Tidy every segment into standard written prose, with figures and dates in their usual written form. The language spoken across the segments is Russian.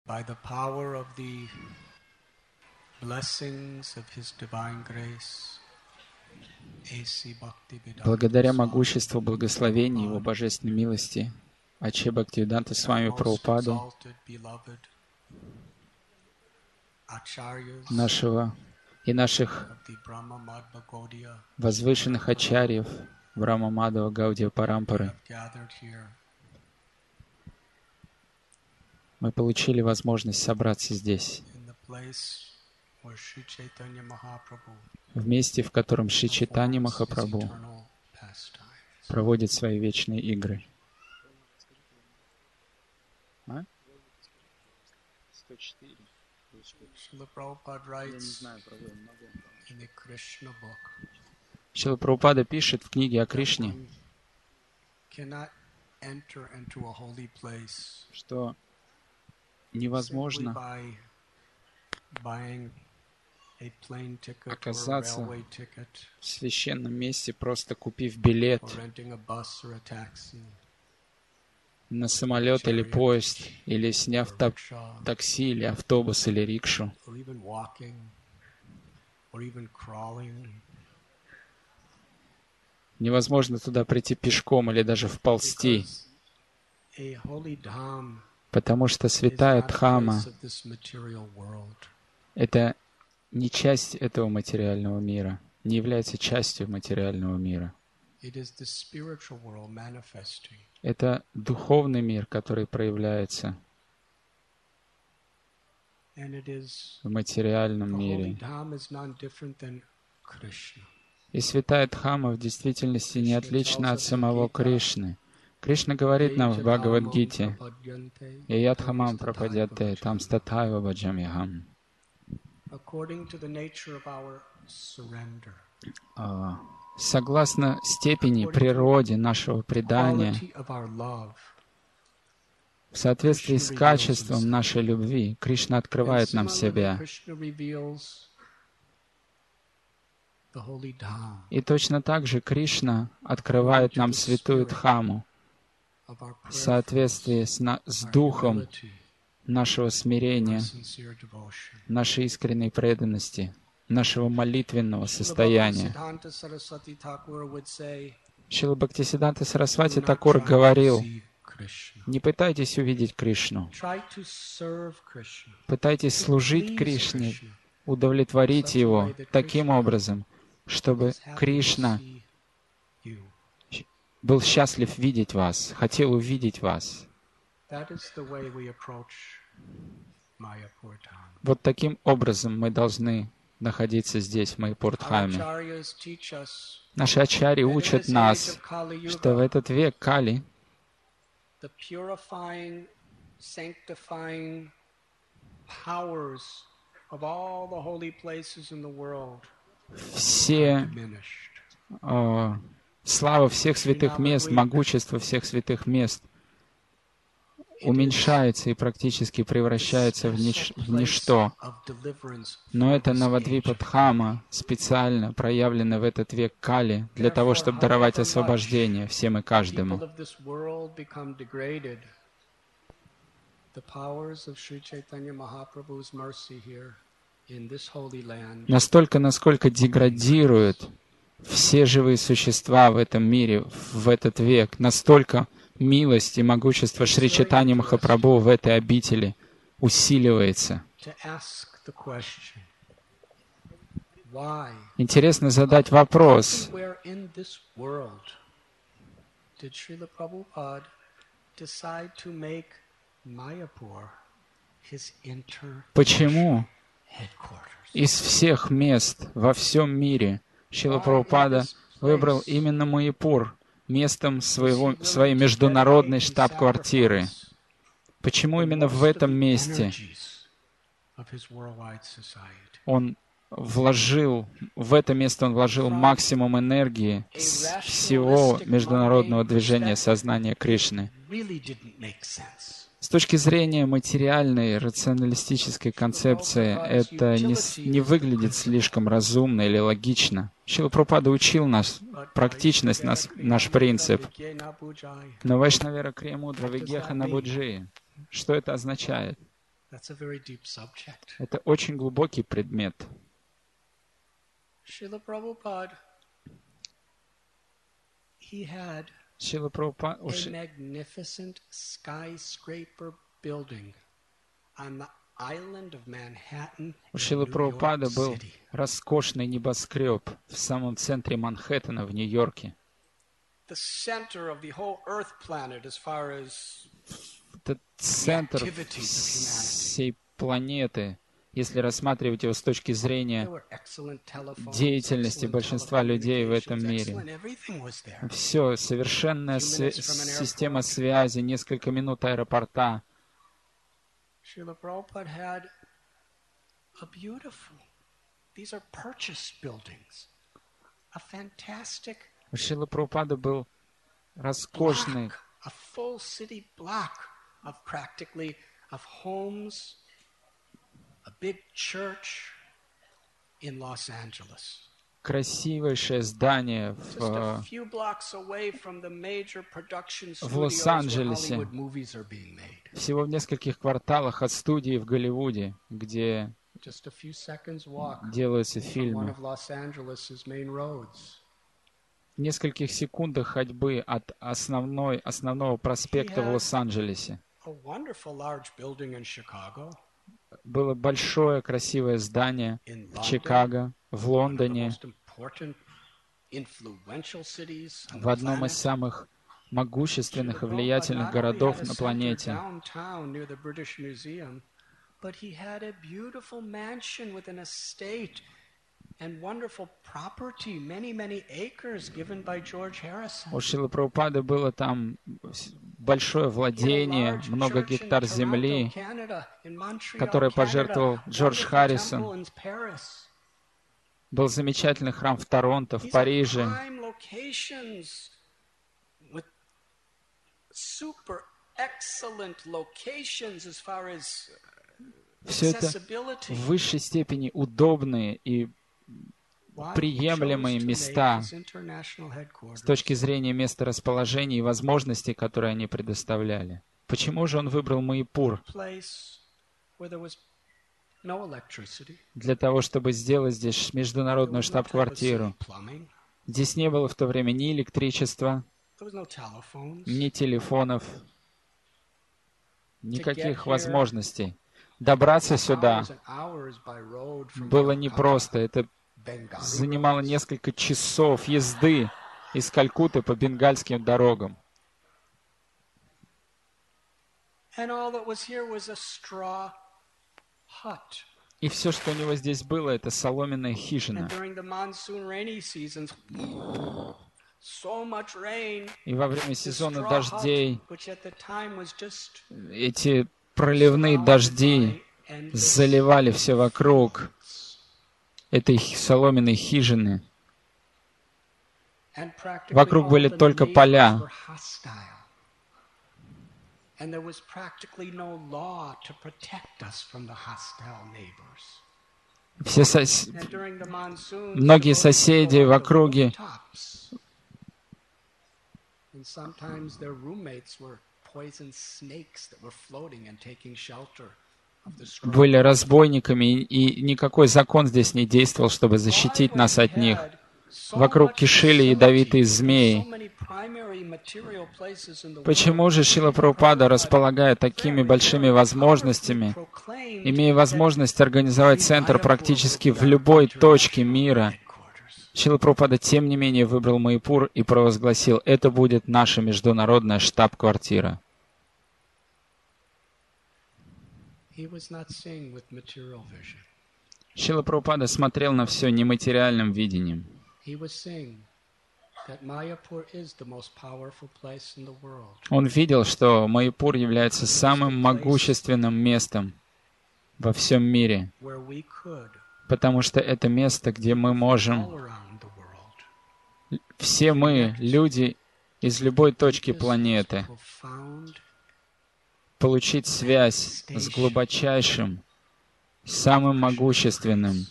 by the power of the blessings of His Divine Grace, A.C. Bhaktivedanta благодаря Swami, могуществу благословений Его Божественной милости, Аче Бхактивиданта Свами Прабхупады, нашего и наших возвышенных ачарьев Брахма Мадхава Гаудия Парампары, мы получили возможность собраться здесь, в месте, в котором Шри Чайтанья Махапрабху проводит свои вечные игры. 104. Шрила Прабхупада пишет в книге о Кришне, что невозможно оказаться в священном месте, просто купив билет на самолет или поезд, или сняв такси, или автобус, или рикшу. Невозможно туда прийти пешком или даже вползти, потому что святая Дхамма — это не часть этого материального мира, не является частью материального мира. Это духовный мир, который проявляется в материальном мире. И святая Дхамма в действительности не отлична от самого Кришны. Кришна говорит нам в Бхагавад-гите: «Яядхамам прападьяте там статхайва баджамихам». Согласно степени, природе нашего предания, в соответствии с качеством нашей любви, Кришна открывает нам себя. И точно так же Кришна открывает нам святую Дхамму в соответствии с духом нашего смирения, нашей искренней преданности, нашего молитвенного состояния. Шрила Бхактисиддханта Сарасвати Такур говорил: не пытайтесь увидеть Кришну, пытайтесь служить Кришне, удовлетворить Его таким образом, чтобы Кришна был счастлив видеть вас, хотел увидеть вас. Вот таким образом мы должны находиться здесь, в Майяпур-дхаме. Наши ачарьи учат нас, что в этот век Кали слава всех святых мест, могущество всех святых мест уменьшается и практически превращается в ничто. Но это Навадвипа-дхама, специально проявлена в этот век Кали, для того, чтобы даровать освобождение всем и каждому. Настолько, насколько деградируют все живые существа в этом мире, в этот век, настолько милость и могущество Шри Чайтаньи Махапрабху в этой обители усиливается. Интересно задать вопрос: почему из всех мест во всем мире Шрила Прабхупада выбрал именно Майяпур местом своей международной штаб-квартиры? Почему именно в этом месте он вложил максимум энергии всего международного движения сознания Кришны? С точки зрения материальной, рационалистической концепции, это не выглядит слишком разумно или логично. Шрила Прабхупада учил нас, практичность наш принцип. Но Вайшнавера Криямудра Вигеха Набуджи. Что это означает? Это очень глубокий предмет. Шрила Прабхупада, Шрила Прабхупада, a magnificent skyscraper building on the island of Manhattan у in Шрилы New Прабхупады York был City. роскошный небоскреб в самом центре Манхэттена в Нью-Йорке. The center of the whole Earth planet as far as Это центр всей планеты, если рассматривать его с точки зрения деятельности большинства людей в этом мире. Все, совершенная система связи, несколько минут аэропорта. Srila Prabhupada had a beautiful, these are purchased buildings, a fantastic У Шрилы Прабхупады был роскошный, block, a full city block of practically, of homes, a big church in Los Angeles. красивейшее здание в Лос-Анджелесе, всего в нескольких кварталах от студии в Голливуде, где делаются фильмы. В нескольких секундах ходьбы от основного проспекта в Лос-Анджелесе было большое красивое здание в Чикаго, в Лондоне, в одном из самых могущественных и влиятельных городов на планете. У Шрилы Прабхупады было там большое владение, много гектар земли, которое пожертвовал Джордж Харрисон. Был замечательный храм в Торонто, в Париже. Все это в высшей степени удобные и приемлемые места с точки зрения месторасположения и возможностей, которые они предоставляли. Почему же он выбрал Майяпур? Для того, чтобы сделать здесь международную штаб-квартиру. Здесь не было в то время ни электричества, ни телефонов, никаких возможностей. Добраться сюда было непросто. Это занимало несколько часов езды из Калькутты по бенгальским дорогам. И все, что у него здесь было, это соломенная хижина. И во время сезона дождей эти проливные дожди заливали все вокруг этой соломенной хижины. Вокруг были только поля. Многие соседи в округе были разбойниками, и никакой закон здесь не действовал, чтобы защитить нас от них. Вокруг кишели ядовитые змеи. Почему же Шрила Прабхупада, располагая такими большими возможностями, имея возможность организовать центр практически в любой точке мира, Шрила Прабхупада, тем не менее, выбрал Майяпур и провозгласил: это будет наша международная штаб-квартира. Шрила Прабхупада смотрел на все нематериальным видением. Он видел, что Майяпур является самым могущественным местом во всем мире, потому что это место, где мы можем, все мы, люди из любой точки планеты, получить связь с глубочайшим, самым могущественным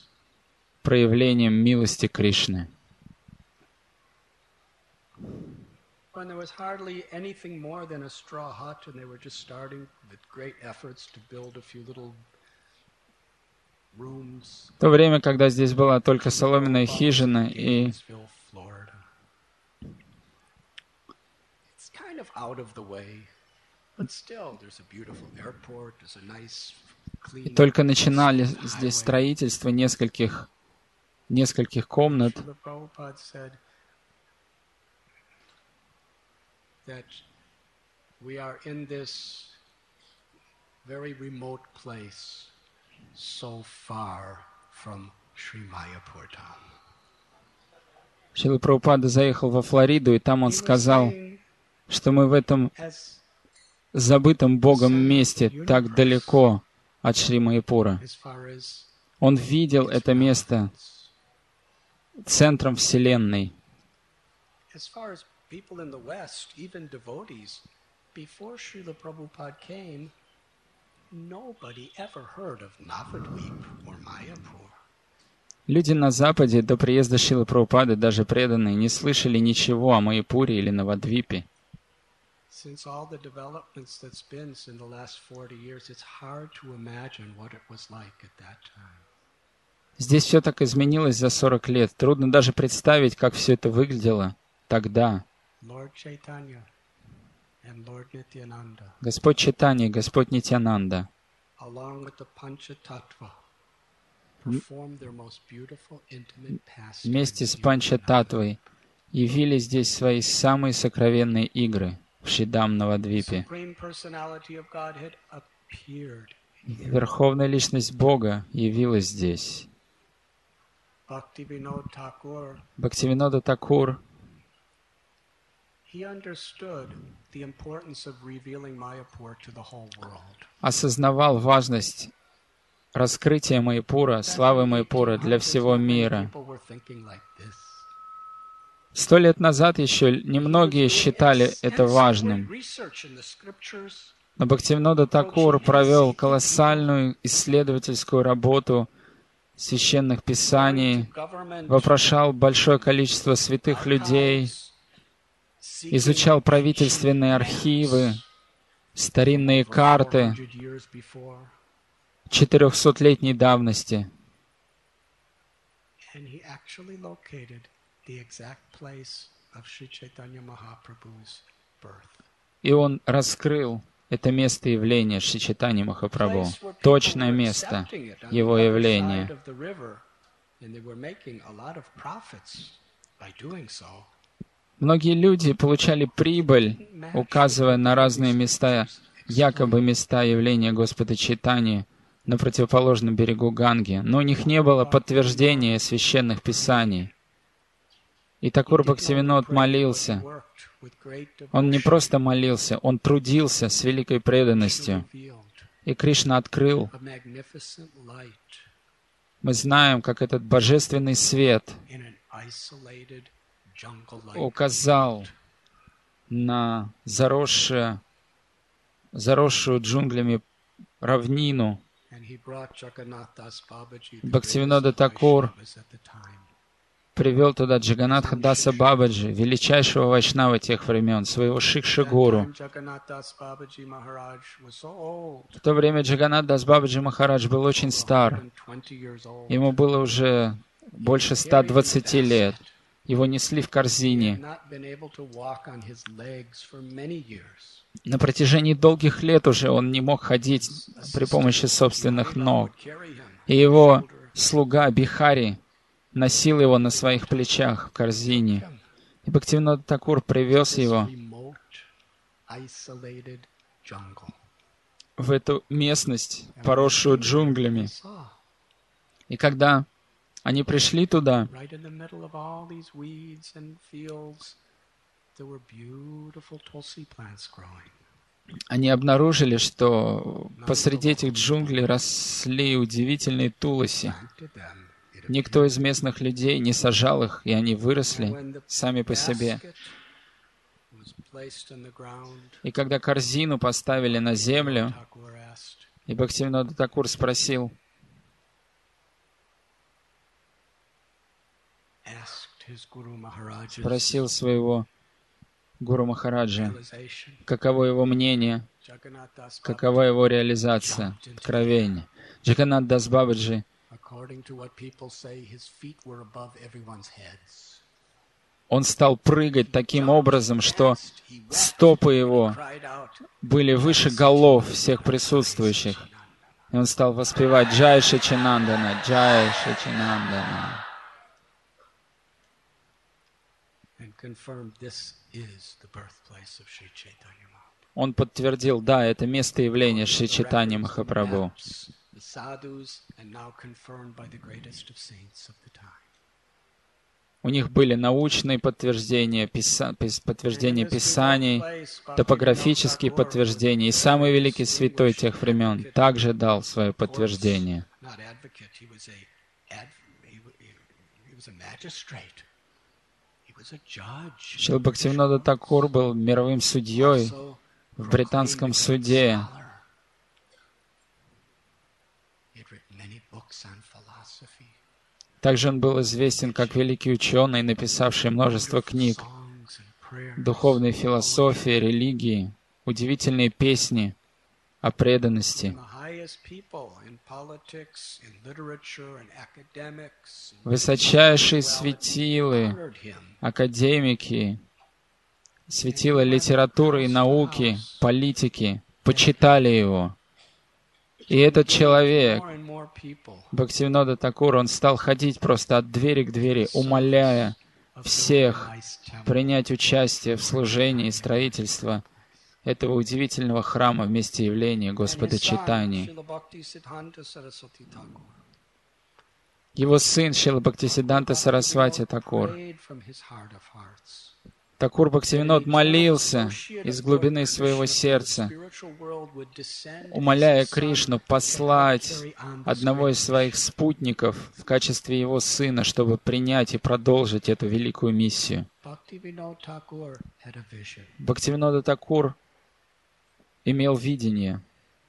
проявлением милости Кришны. when there was hardly anything more than a straw hut, and they were just starting with great efforts to build a few little rooms. В то время, когда здесь была только соломенная хижина, и It's kind of out of the way, but still there's a beautiful airport, there's a nice clean. только начинали здесь строительство нескольких комнат. Srila Prabhupada said that we are in this very remote place, so far from Sri Mayapur Dham. Шрила Прабхупада заехал во Флориду, и там он сказал, что мы в этом забытом Богом месте так далеко от Шри Майяпура. Он видел это место центром Вселенной. People in the West, even devotees, before Srila Prabhupada came, nobody ever heard of Navadvip or Mayapur. Люди на Западе до приезда Шрилы Прабхупады, даже преданные, не слышали ничего о Майяпуре или Навадвипе. Since all the developments that's been in the last 40 years, it's hard to imagine what it was like at that time. Здесь все так изменилось за 40 лет. Трудно даже представить, как все это выглядело тогда. Lord Chaitanya and Lord Nityananda, Господь Чайтанья, Господь Нитьянанда, along with the Panchatattva, performed their most beautiful intimate pastimes. вместе с Панчататтвой явили здесь свои самые сокровенные игры в Шридам Навадвипе. Supreme Personality of Godhead appeared. Верховная Личность Бога явилась здесь. Bhaktivinoda Thakur, Бхактивинода Такур he understood the importance of revealing Mayapur to the whole world. осознавал важность раскрытия Майяпура, славы Майяпура для всего мира. People were thinking like this. 100 лет назад еще немногие считали это важным. Но Бхактивинода Такур провел колоссальную исследовательскую работу священных писаний, вопрошал большое количество святых людей, изучал правительственные архивы, старинные карты 400-летней давности. И он раскрыл это место явления Шри Чайтаньи Махапрабху, точное место его явления. Многие люди получали прибыль, указывая на разные места, якобы места явления Господа Чайтаньи на противоположном берегу Ганги, но у них не было подтверждения священных писаний. И Такур Бхактивинод молился. Он не просто молился, он трудился с великой преданностью. И Кришна открыл. Мы знаем, как этот божественный свет указал на заросшую джунглями равнину. Бхактивинода Такур привел туда Джаганатха Даса Бабаджи, величайшего вайшнава тех времен, своего Шикша-гуру. В то время Джаганат Дас Бабаджи Махарадж был очень стар. Ему было уже больше 120 лет. Его несли в корзине. На протяжении долгих лет уже он не мог ходить при помощи собственных ног. И его слуга Бихари носил его на своих плечах в корзине. И Бхактивинода Такур привез его в эту местность, поросшую джунглями. И когда они пришли туда, они обнаружили, что посреди этих джунглей росли удивительные туласи. Никто из местных людей не сажал их, и они выросли сами по себе. И когда корзину поставили на землю, и Бхактивинода Такур спросил своего Гуру Махараджа, каково его мнение, какова его реализация, откровение. Джаганнат Дас Бабаджи, он стал прыгать таким образом, что стопы его были выше голов всех присутствующих. И он стал воспевать «Джай Шачинандана, Джай Шачинандана». Он подтвердил, да, это место явления Шри Чайтаньи Махапрабху. У них были научные подтверждения, подтверждения Писаний, топографические подтверждения. И самый великий святой тех времен также дал свое подтверждение. Шрила Бхактивинода Такур был мировым судьей в британском суде. Также он был известен как великий ученый, написавший множество книг духовной философии, религии, удивительные песни о преданности. Высочайшие светилы, академики, светила литературы и науки, политики почитали его. И этот человек, Бхактивинода Такур, он стал ходить просто от двери к двери, умоляя всех принять участие в служении и строительстве этого удивительного храма в месте явления Господа Чайтаньи. Его сын Шрила Бхактисиддханта Сарасвати Такур. Такур Бхактивинод молился из глубины своего сердца, умоляя Кришну послать одного из своих спутников в качестве его сына, чтобы принять и продолжить эту великую миссию. Бхактивинода Такур имел видение.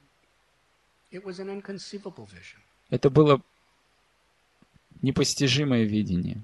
Это было непостижимое видение.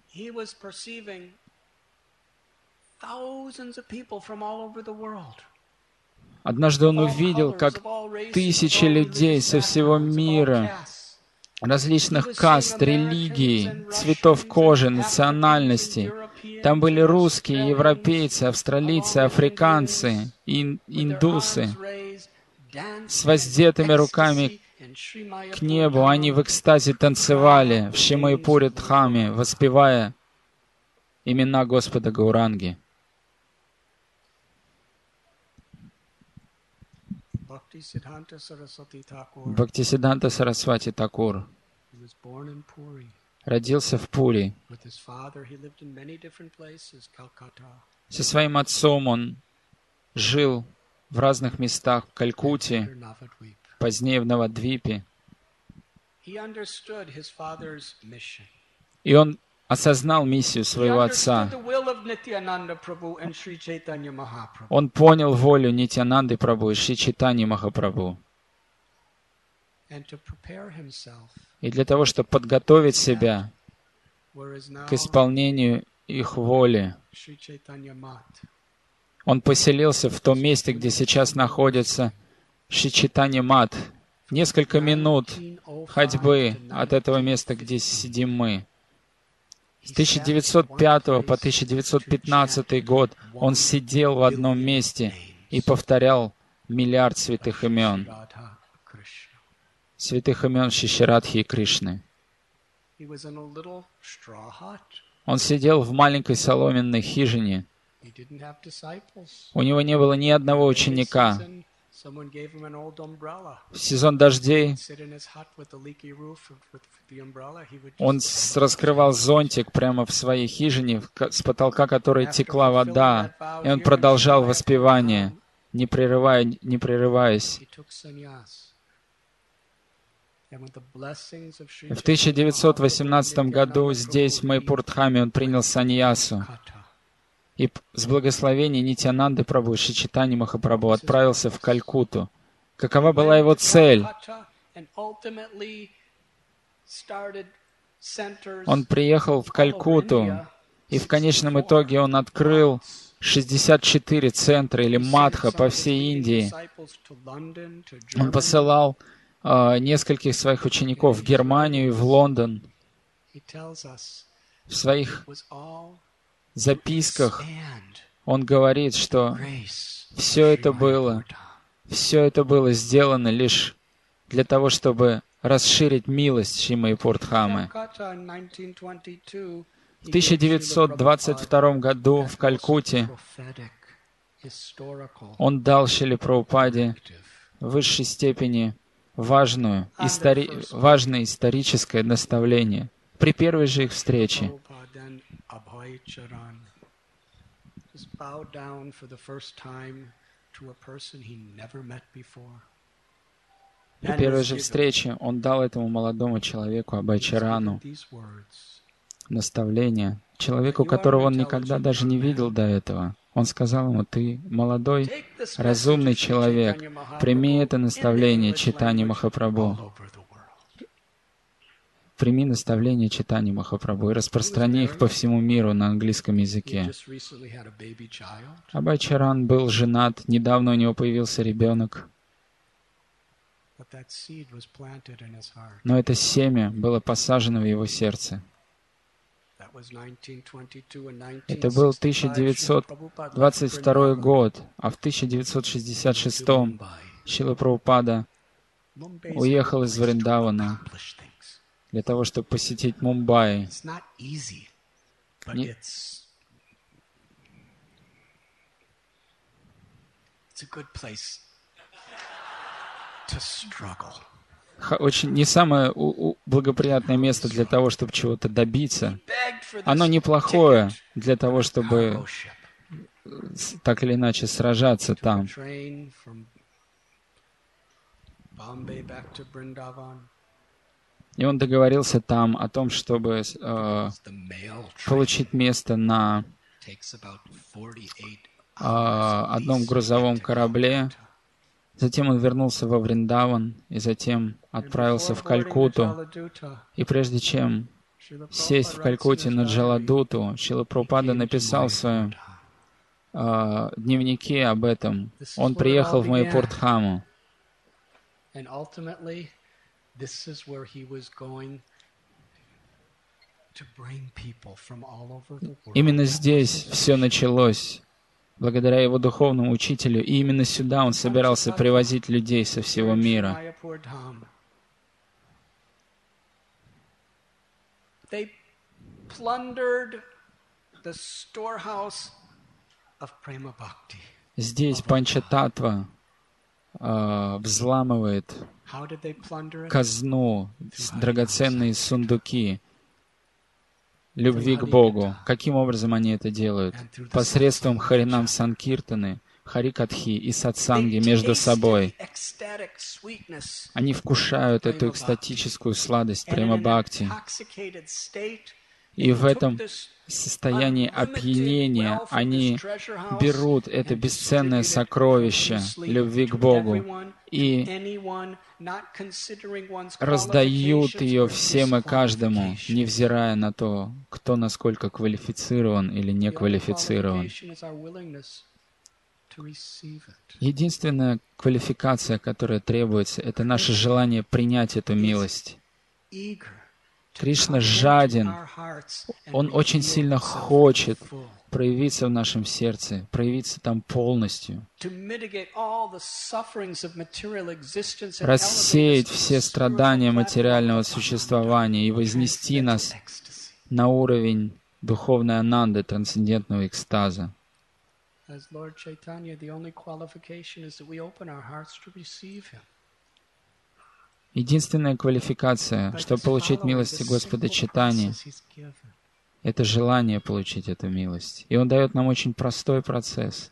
Однажды он увидел, как тысячи людей со всего мира, различных каст, религий, цветов кожи, национальностей. Там были русские, европейцы, австралийцы, африканцы, индусы. С воздетыми руками к небу они в экстазе танцевали в Шримайпуре Дхаме, воспевая имена Господа Гауранги. Бхактисиддханта Сарасвати Такур родился в Пури. Со своим отцом он жил в разных местах, в Калькутте, позднее в Навадвипе. И он осознал миссию своего отца. Он понял волю Нитьянанды Прабху и Шри Чайтаньи Махапрабху. И для того, чтобы подготовить себя к исполнению их воли, он поселился в том месте, где сейчас находится Шри Чайтанья Мат. Несколько минут ходьбы от этого места, где сидим мы. С 1905 по 1915 год он сидел в одном месте и повторял миллиард святых имен. Святых имен Шиширадхи и Кришны. Он сидел в маленькой соломенной хижине. У него не было ни одного ученика. В сезон дождей он раскрывал зонтик прямо в своей хижине, с потолка которой текла вода, и он продолжал воспевание, не прерываясь. В 1918 году здесь, в Майпур-Дхаме, он принял саньясу. И с благословения Нитьянанды Прабху, Шри Чайтаньи Махапрабху отправился в Калькутту. Какова была его цель? Он приехал в Калькутту, и в конечном итоге он открыл 64 центра или мадха по всей Индии. Он посылал нескольких своих учеников в Германию и в Лондон. В своих записках он говорит, что все это было сделано лишь для того, чтобы расширить милость Шримад-Пурдхамы. В 1922 году в Калькутте он дал Шриле Прабхупаде в высшей степени важное историческое наставление при первой же их встрече. При первой же встрече он дал этому молодому человеку, Абхай-чарану, наставление, человеку, которого он никогда даже не видел до этого. Он сказал ему: «Ты молодой, разумный человек, прими это наставление Чайтаньи Махапрабху. Прими наставление Чайтаньи Махапрабху и распространи их по всему миру на английском языке». Абхай-чаран был женат, недавно у него появился ребенок. Но это семя было посажено в его сердце. Это был 1922 год, а в 1966 Шрила Прабхупада уехал из Вриндавана для того, чтобы посетить Мумбаи. Очень не самое благоприятное место для того, чтобы чего-то добиться. Оно неплохое для того, чтобы так или иначе сражаться там. И он договорился там о том, чтобы получить место на одном грузовом корабле. Затем он вернулся во Вриндаван и затем отправился в Калькутту. И прежде чем сесть в Калькутте на Джаладуту, Шрила Прабхупада написал в своем дневнике об этом. Он приехал в Майяпур-дхаму. Именно здесь все началось. Благодаря его духовному учителю, и именно сюда он собирался привозить людей со всего мира. Здесь Панчататтва взламывает казну, драгоценные сундуки любви к Богу. Каким образом они это делают? Посредством Харинам Санкиртаны, Харикатхи и сатсанги между собой. Они вкушают эту экстатическую сладость према-бхакти. И в этом состоянии опьянения они берут это бесценное сокровище любви к Богу и раздают ее всем и каждому, невзирая на то, кто насколько квалифицирован или не квалифицирован. Единственная квалификация, которая требуется, это наше желание принять эту милость. Кришна жаден, Он очень сильно хочет проявиться в нашем сердце, проявиться там полностью, рассеять все страдания материального существования и вознести нас на уровень духовной ананды, трансцендентного экстаза. Единственная квалификация, чтобы получить милость Господа Чайтаньи, это желание получить эту милость. И Он дает нам очень простой процесс.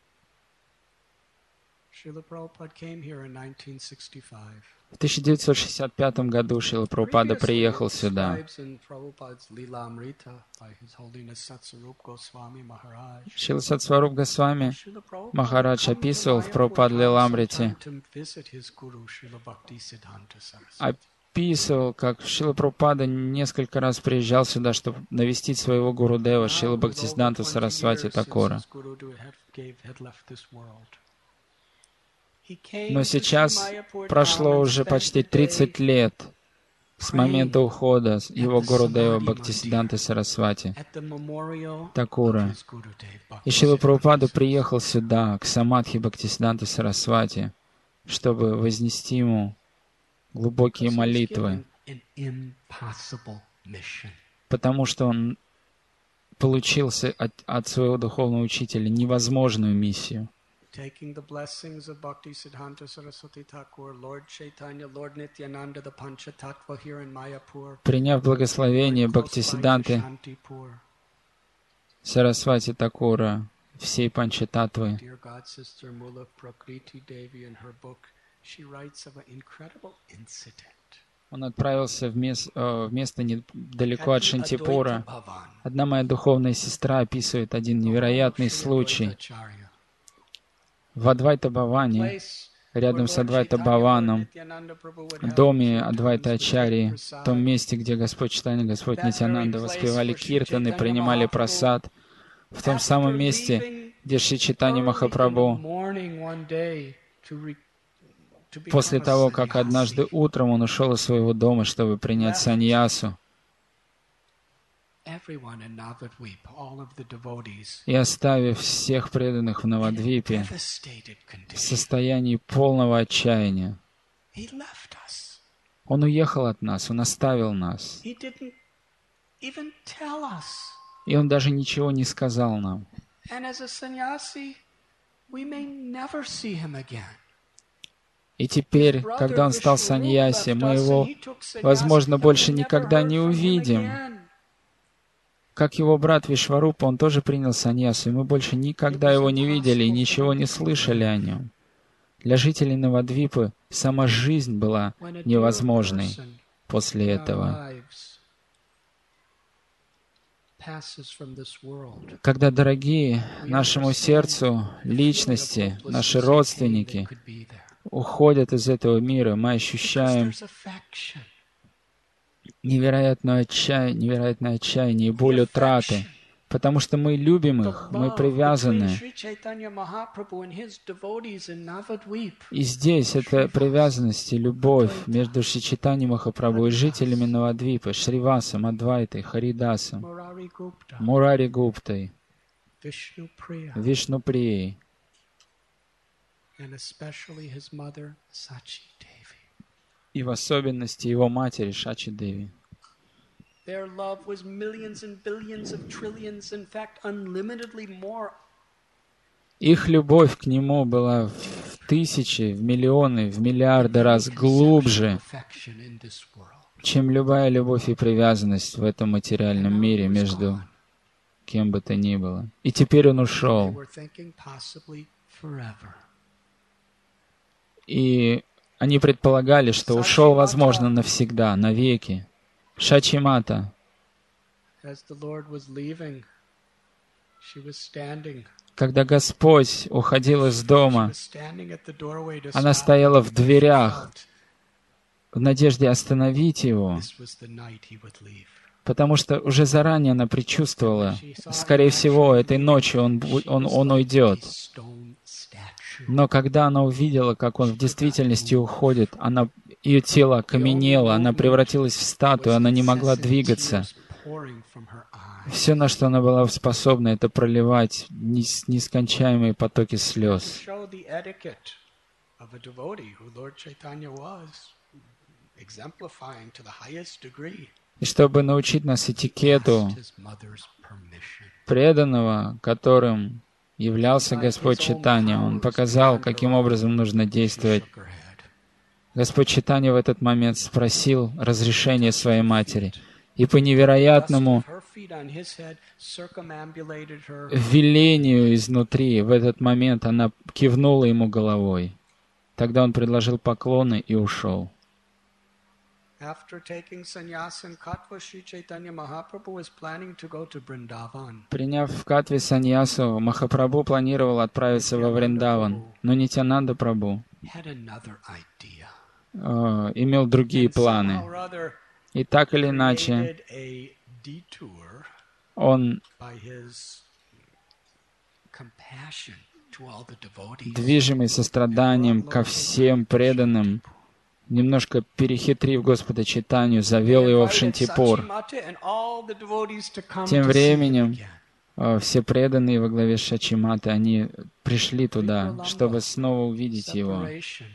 В 1965 году Шрила Прабхупада приехал сюда. Шрила Сатсваруб Госвами Махарадж описывал в Прабхупад Лиламрите описывал, как Шрила Прабхупада несколько раз приезжал сюда, чтобы навестить своего Гурудева, Шрила Бхактисиддханту Сарасвати Такура. Но сейчас прошло уже почти 30 лет с момента ухода его Гурудева Бхактисиддханты Сарасвати Такура. И Шрила Прабхупада приехал сюда, к Самадхи Бхактисиддханты Сарасвати, чтобы вознести ему глубокие молитвы, потому что он получил от своего духовного учителя невозможную миссию. Приняв благословение Бхактисиддханты Сарасвати Такура, всей Панчататтвы, он отправился в место недалеко от Шантипура. Одна моя духовная сестра описывает один невероятный случай. В Адвайта-Бхаване, рядом с Адвайта-Бхаваном, в доме Адвайта-Ачарьи, в том месте, где Господь Чайтанья и Господь Нитьянанда воспевали киртаны, принимали прасад, в том самом месте, где Шри Чайтанья Махапрабху, после того, как однажды утром он ушел из своего дома, чтобы принять саньясу, и оставив всех преданных в Навадвипе в состоянии полного отчаяния, он уехал от нас, он оставил нас. И он даже ничего не сказал нам. И теперь, когда он стал саньяси, мы его, возможно, больше никогда не увидим. Как его брат Вишварупа, он тоже принял саньясу, и мы больше никогда его не видели и ничего не слышали о нем. Для жителей Навадвипы сама жизнь была невозможной после этого. Когда дорогие нашему сердцу личности, наши родственники уходят из этого мира, мы ощущаем невероятное отчаяние и боль утраты, потому что мы любим их, мы привязаны. И здесь эта привязанность и любовь между Шри Чайтаньей Махапрабху и жителями Навадвипы, Шривасом, Адвайтой, Харидасом, Мурари Гуптой, Вишнуприей, и в особенности его матери Шачи Деви. Их любовь к нему была в тысячи, в миллионы, в миллиарды раз глубже, чем любая любовь и привязанность в этом материальном мире между кем бы то ни было. И теперь он ушел. И они предполагали, что ушел, возможно, навсегда, навеки. Шачи-мата, когда Господь уходил из дома, она стояла в дверях в надежде остановить его, потому что уже заранее она предчувствовала, скорее всего, этой ночью он уйдет. Но когда она увидела, как он в действительности уходит, ее тело окаменело, она превратилась в статую, она не могла двигаться. Все, на что она была способна, это проливать нескончаемые потоки слез. И чтобы научить нас этикету преданного, которым являлся Господь Чайтанья, Он показал, каким образом нужно действовать. Господь Чайтанья в этот момент спросил разрешения своей матери. И по невероятному велению изнутри, в этот момент она кивнула ему головой. Тогда он предложил поклоны и ушел. Приняв в Катве саньясу, Махапрабху планировал отправиться во Вриндаван, но Нитьянанда Прабху имел другие планы. И так или иначе, он, движимый состраданием ко всем преданным, немножко перехитрив Господа Чайтанью, завел его в Шантипур. Тем временем все преданные во главе с Шачиматой, они пришли туда, чтобы снова увидеть его.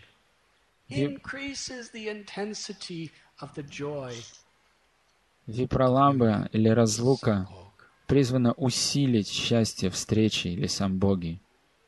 Випраламба или разлука призвана усилить счастье встречи или самбоги.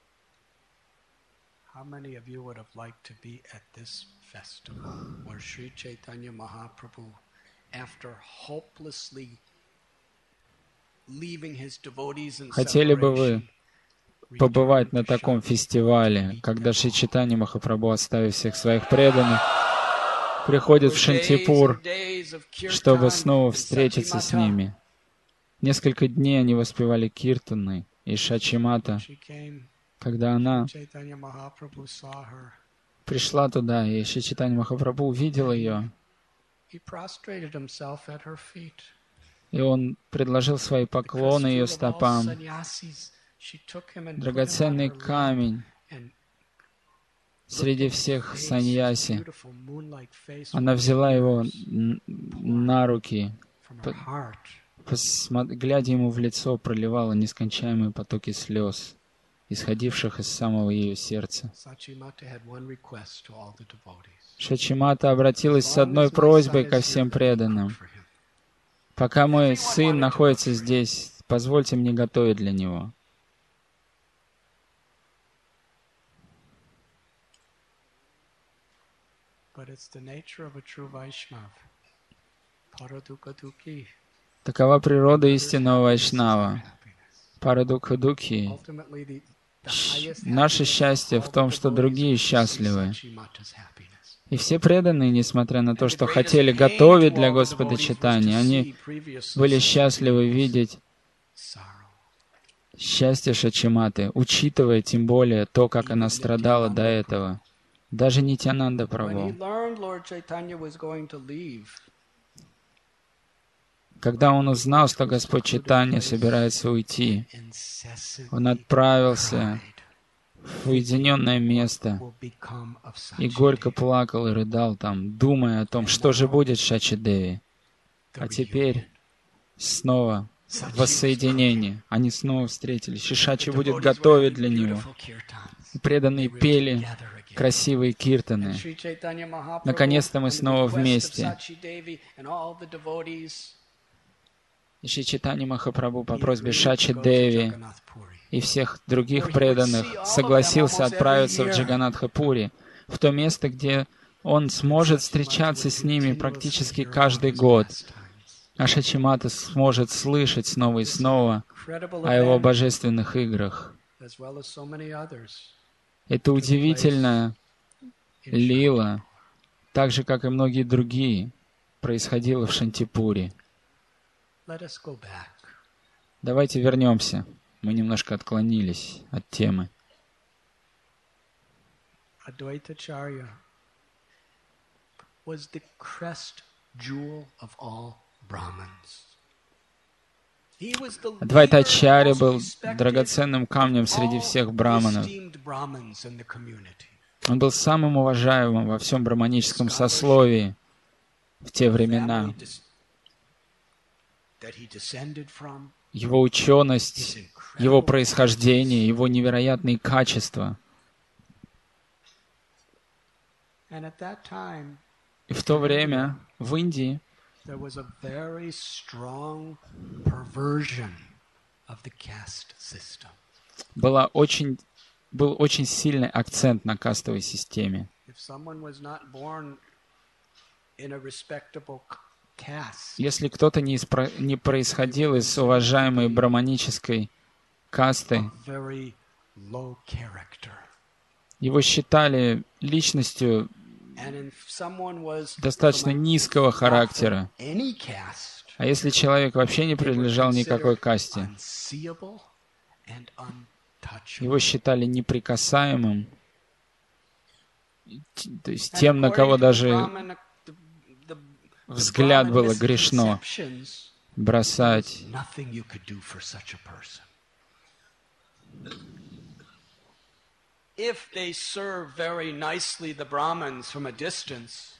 Хотели бы вы побывать на таком фестивале, когда Шри Чайтанья Махапрабху, оставив всех своих преданных, приходит в Шантипур, чтобы снова встретиться с ними? Несколько дней они воспевали киртаны, и Шачимата, когда она пришла туда, и Шри Чайтанья Махапрабху увидел ее, и он предложил свои поклоны ее стопам, драгоценный камень среди всех саньяси. Она взяла его на руки, глядя ему в лицо, проливала нескончаемые потоки слез, исходивших из самого ее сердца. Шачимата обратилась с одной просьбой ко всем преданным: «Пока мой сын находится здесь, позвольте мне готовить для него». Такова природа истинного вайшнава. Парадукха-дукхи. Наше счастье в том, что другие счастливы. И все преданные, несмотря на то, что хотели готовить для Господа Чайтаньи, они были счастливы видеть счастье Шачиматы, учитывая тем более то, как она страдала до этого. Даже Нитьянанда Прабху, когда он узнал, что Господь Чайтанья собирается уйти, он отправился в уединенное место и горько плакал и рыдал там, думая о том, что же будет с Шачи-деви. А теперь снова воссоединение. Они снова встретились. И Шачи будет готовить для него. И преданные пели красивые киртаны. Наконец-то мы снова вместе. И Шри Чайтанья Махапрабху по просьбе Шачи-деви и всех других преданных согласился отправиться в Джаганатха-пури, в то место, где он сможет встречаться с ними практически каждый год. А Шачимата сможет слышать снова и снова о его божественных играх. Это удивительная лила, так же, как и многие другие, происходило в Шантипуре. Давайте вернемся. Мы немножко отклонились от темы. Advaitacharya was the crest jewel of all Brahmins. Адвайтачарья был драгоценным камнем среди всех браманов. Он был самым уважаемым во всем браманическом сословии в те времена. Его ученость, его происхождение, его невероятные качества. И в то время в Индии был очень сильный акцент на кастовой системе. Если кто-то не происходил из уважаемой браманической касты, его считали личностью достаточно низкого характера. А если человек вообще не принадлежал никакой касте, его считали неприкасаемым то есть тем, на кого даже взгляд было грешно бросать. If they serve very nicely the Brahmins from a distance,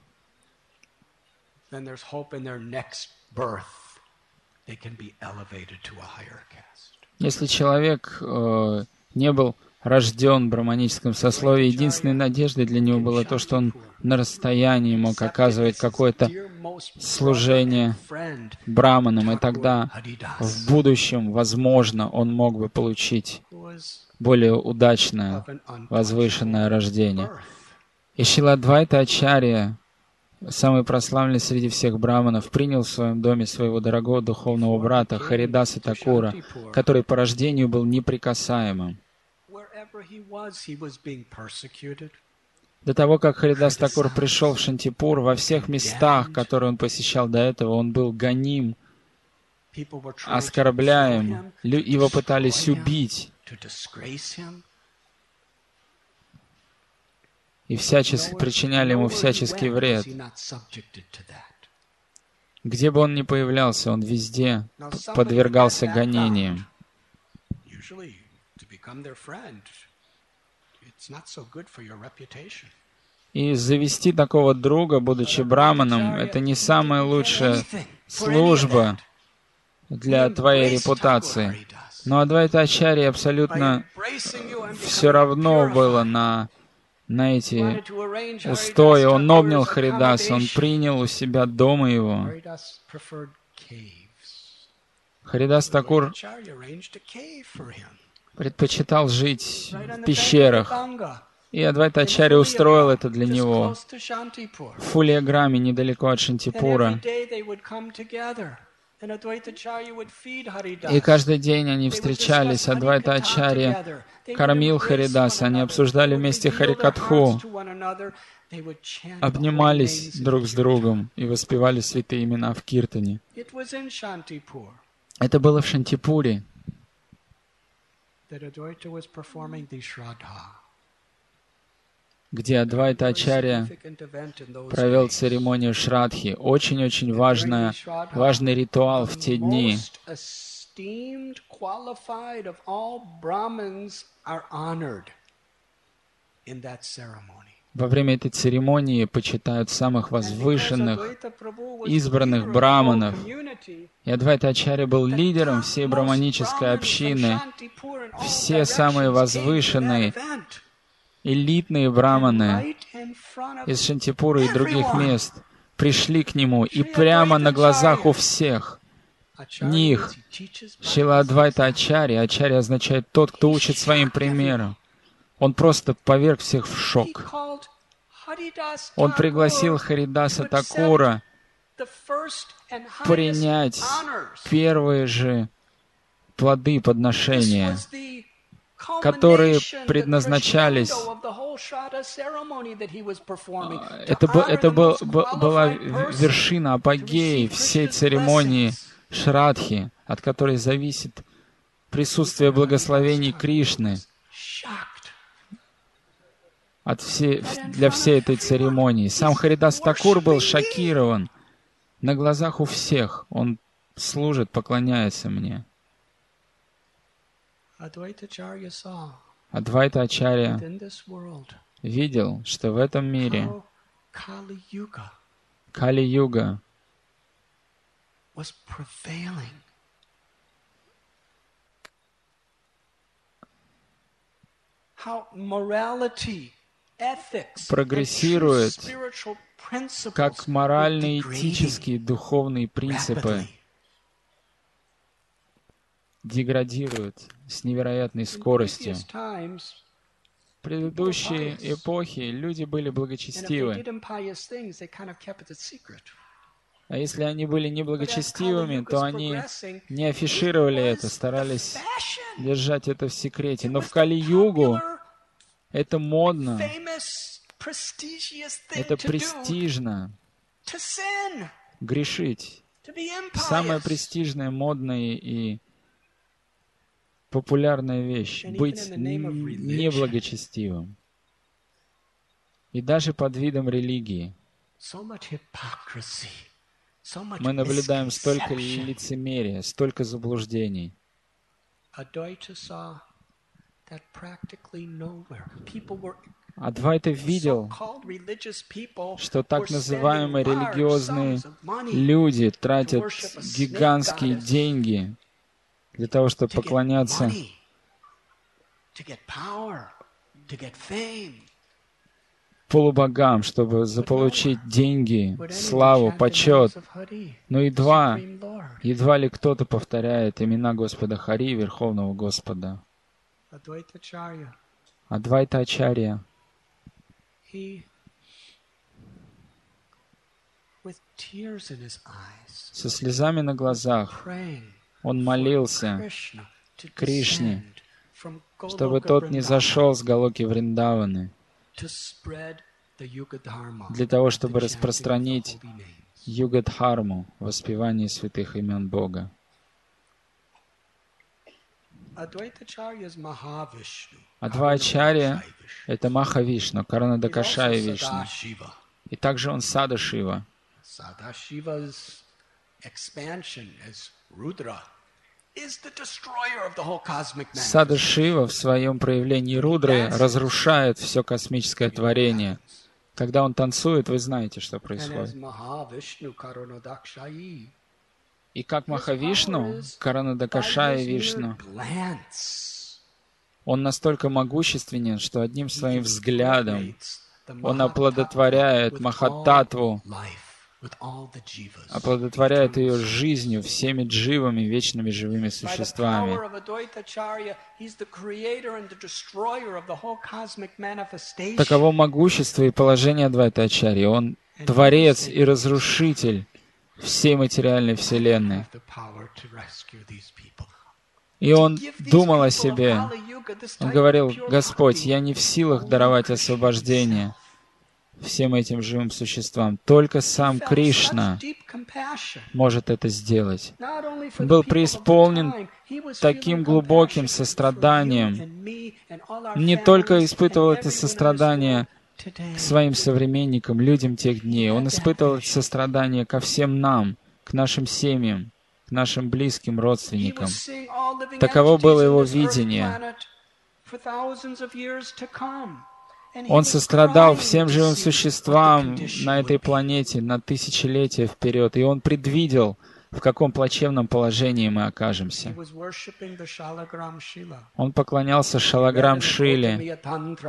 then there's hope in their next birth. They can be elevated to a higher caste. Если человек не был рожден в браманическом сословии, единственной надеждой для него было то, что он на расстоянии мог оказывать какое-то служение браманам, и тогда в будущем, возможно, он мог бы получить более удачное, возвышенное рождение. И Шрила Адвайта Ачарья, самый прославленный среди всех браманов, принял в своем доме своего дорогого духовного брата Харидаса Такура, который по рождению был неприкасаемым. До того, как Харидас Такур пришел в Шантипур, во всех местах, которые он посещал до этого, он был гоним, оскорбляем, его пытались убить. И всячески причиняли ему всяческий вред. Где бы он ни появлялся, он везде подвергался гонениям. И завести такого друга, будучи браманом, это не самая лучшая служба для твоей репутации. Но Адвайта Ачарье абсолютно все равно было на эти устои. Он обнял Харидаса, он принял у себя дома его. Харидас Такур предпочитал жить в пещерах, и Адвайта Ачарья устроил это для него в Фулиаграме, недалеко от Шантипура. И каждый день они встречались, Адвайта Ачарья кормил Харидаса, они обсуждали вместе Харикатху, обнимались друг с другом и воспевали святые имена в Киртане. Это было в Шантипуре, где Адвайта Ачарья провел церемонию Шрадхи. Очень-очень важный ритуал в те дни. Во время этой церемонии почитают самых возвышенных, избранных браманов. И Адвайта Ачарья был лидером всей браманической общины. Все самые возвышенные, элитные браманы из Шантипура и других мест пришли к нему, и прямо на глазах у всех них Шрила Адвайта Ачарья, Ачарья означает «тот, кто учит своим примером», он просто поверг всех в шок. Он пригласил Харидаса Такура принять первые же плоды подношения, которые предназначались. Это была вершина, апогей всей церемонии Шрадхи, от которой зависит присутствие благословений Кришны для всей этой церемонии. Сам Харидас Такур был шокирован. На глазах у всех он служит, поклоняется мне. Адвайта Ачарья видел, что в этом мире Кали-юга прогрессирует, как моральные, этические, духовные принципы деградируют с невероятной скоростью. В предыдущие эпохи люди были благочестивы. А если они были неблагочестивыми, то они не афишировали это, старались держать это в секрете. Но в Кали-югу это модно, это престижно грешить. Самая престижная, модная и популярная вещь — быть неблагочестивым. И даже под видом религии мы наблюдаем столько лицемерия, столько заблуждений. Адвайта видел, что так называемые религиозные люди тратят гигантские деньги для того, чтобы поклоняться полубогам, чтобы заполучить деньги, славу, почет. Но едва ли кто-то повторяет имена Господа Хари, Верховного Господа. Адвайта Ачарья. Со слезами на глазах он молился Кришне, чтобы тот не зашел с Галоки Вриндаваны, для того, чтобы распространить Югадхарму, воспевание святых имен Бога. Адвайта-ачарья — это Махавишну, Каранадакашая Вишну. И также он Сада-шива. Сада-шива в своем проявлении Рудры разрушает все космическое творение. Когда он танцует, вы знаете, что происходит. И как Махавишну, Каранадакашая Вишну, он настолько могущественен, что одним своим взглядом он оплодотворяет Махататву, оплодотворяет ее жизнью, всеми дживами, вечными живыми существами. Таково могущество и положение Адвайта-ачарьи. Он творец и разрушитель всей материальной вселенной. И он думал о себе. Он говорил: Господь, я не в силах даровать освобождение всем этим живым существам. Только сам Кришна может это сделать. Он был преисполнен таким глубоким состраданием. Не только испытывал это сострадание к своим современникам, людям тех дней. Он испытывал это сострадание ко всем нам, к нашим семьям, к нашим близким родственникам. Таково было его видение. Он сострадал всем живым существам на этой планете на тысячелетия вперед, и он предвидел, в каком плачевном положении мы окажемся. Он поклонялся Шалаграм-шиле.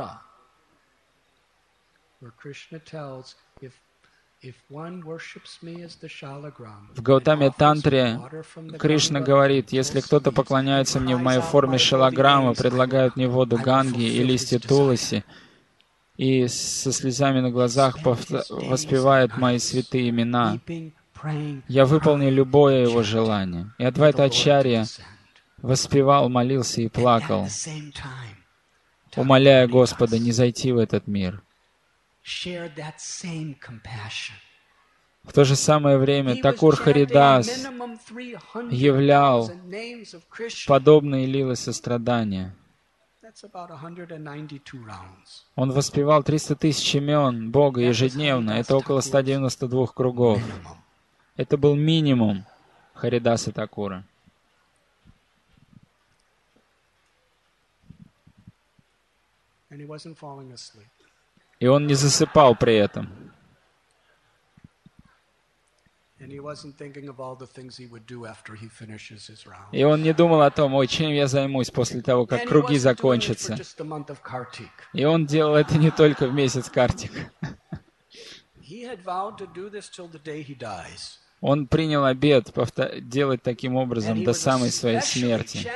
В Гаутаме-тантре Кришна говорит: если кто-то поклоняется мне в моей форме шалаграма, предлагают мне воду Ганги и листья Туласи, и со слезами на глазах воспевает мои святые имена, я выполню любое его желание. И Адвайта-ачарья воспевал, молился и плакал, умоляя Господа не зайти в этот мир. В то же самое время Такур Харидас являл подобные лилы сострадания. Он воспевал 300 тысяч имен Бога ежедневно. Это около 192 кругов. Это был минимум Харидаса Такура. И он не засыпал при этом. И он не думал о том: ой, чем я займусь после того, как круги закончатся. И он делал это не только в месяц Картик. Он принял обет делать таким образом до самой своей смерти.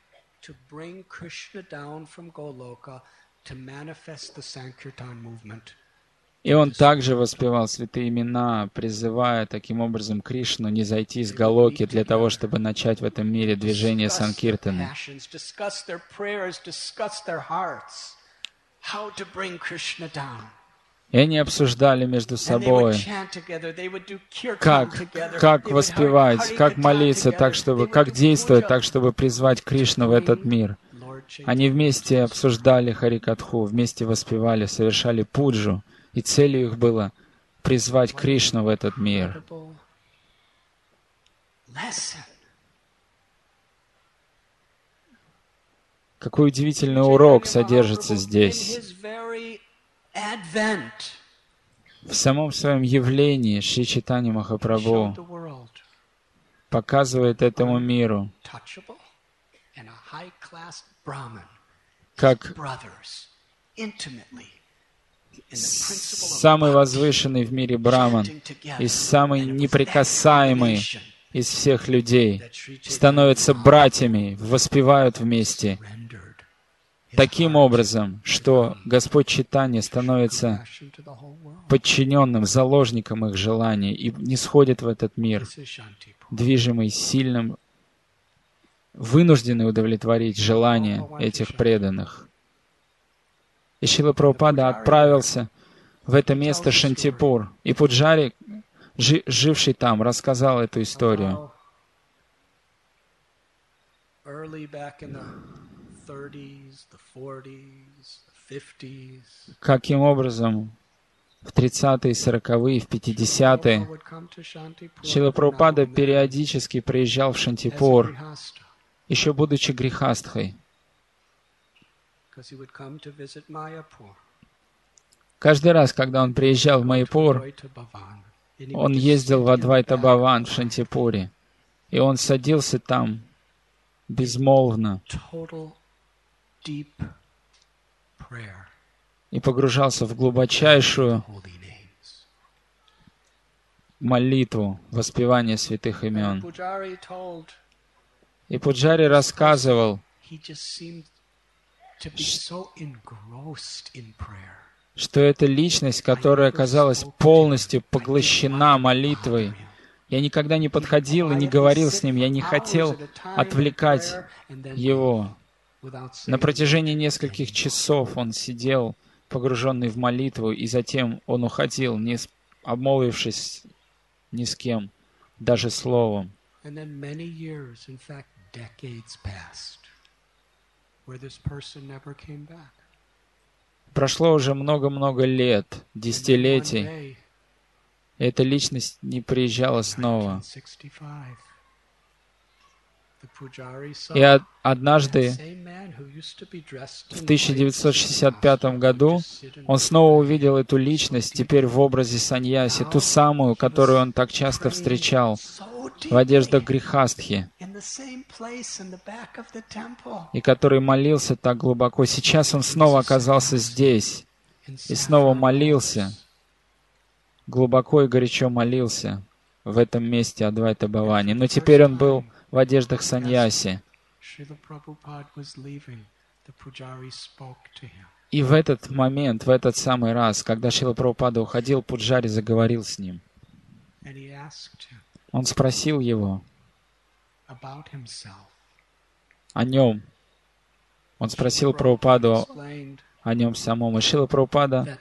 И он также воспевал святые имена, призывая таким образом Кришну не зайти с Галоки для того, чтобы начать в этом мире движение Санкиртаны. И они обсуждали между собой, как воспевать, как молиться, как действовать так, чтобы призвать Кришну в этот мир. Они вместе обсуждали Харикатху, вместе воспевали, совершали пуджу и целью их было призвать Кришну в этот мир. Какой удивительный урок содержится здесь. В самом своем явлении Шри Чайтанья Махапрабху показывает этому миру, как самый возвышенный в мире браман и самый неприкасаемый из всех людей становятся братьями, воспевают вместе таким образом, что Господь Чайтанья становится подчиненным, заложником их желаний и нисходит в этот мир, движимый сильным, вынужденный удовлетворить желания этих преданных. И Шрила Прабхупада отправился в это место Шантипур, и Пуджари, живший там, рассказал эту историю. Каким образом в 30-е, 40-е, в 50-е Шрила Прабхупада периодически приезжал в Шантипур, еще будучи грихастхой. Каждый раз, когда он приезжал в Майяпур, он ездил в Адвайта Бхаван в Шантипуре, и он садился там безмолвно и погружался в глубочайшую молитву, воспевание святых имен. И Пуджари рассказывал, что это личность, которая оказалась полностью поглощена молитвой. Я никогда не подходил и не говорил с ним, я не хотел отвлекать его. На протяжении нескольких часов он сидел, погруженный в молитву, и затем он уходил, не обмолвившись ни с кем, даже словом. Прошло уже много-много лет, десятилетий, и эта личность не приезжала снова. И однажды, в 1965 году, он снова увидел эту личность, теперь в образе саньяси, ту самую, которую он так часто встречал в одеждах грихастхи, и который молился так глубоко. Сейчас он снова оказался здесь, и снова молился, глубоко и горячо молился в этом месте Адвайта Бхавани. Но теперь он был в одеждах саньяси. И в этот момент, в этот самый раз, когда Шрила Прабхупада уходил, Пуджари заговорил с ним. Он спросил его о нем. Он спросил Прабхупаду о нем самом. И Шрила Прабхупада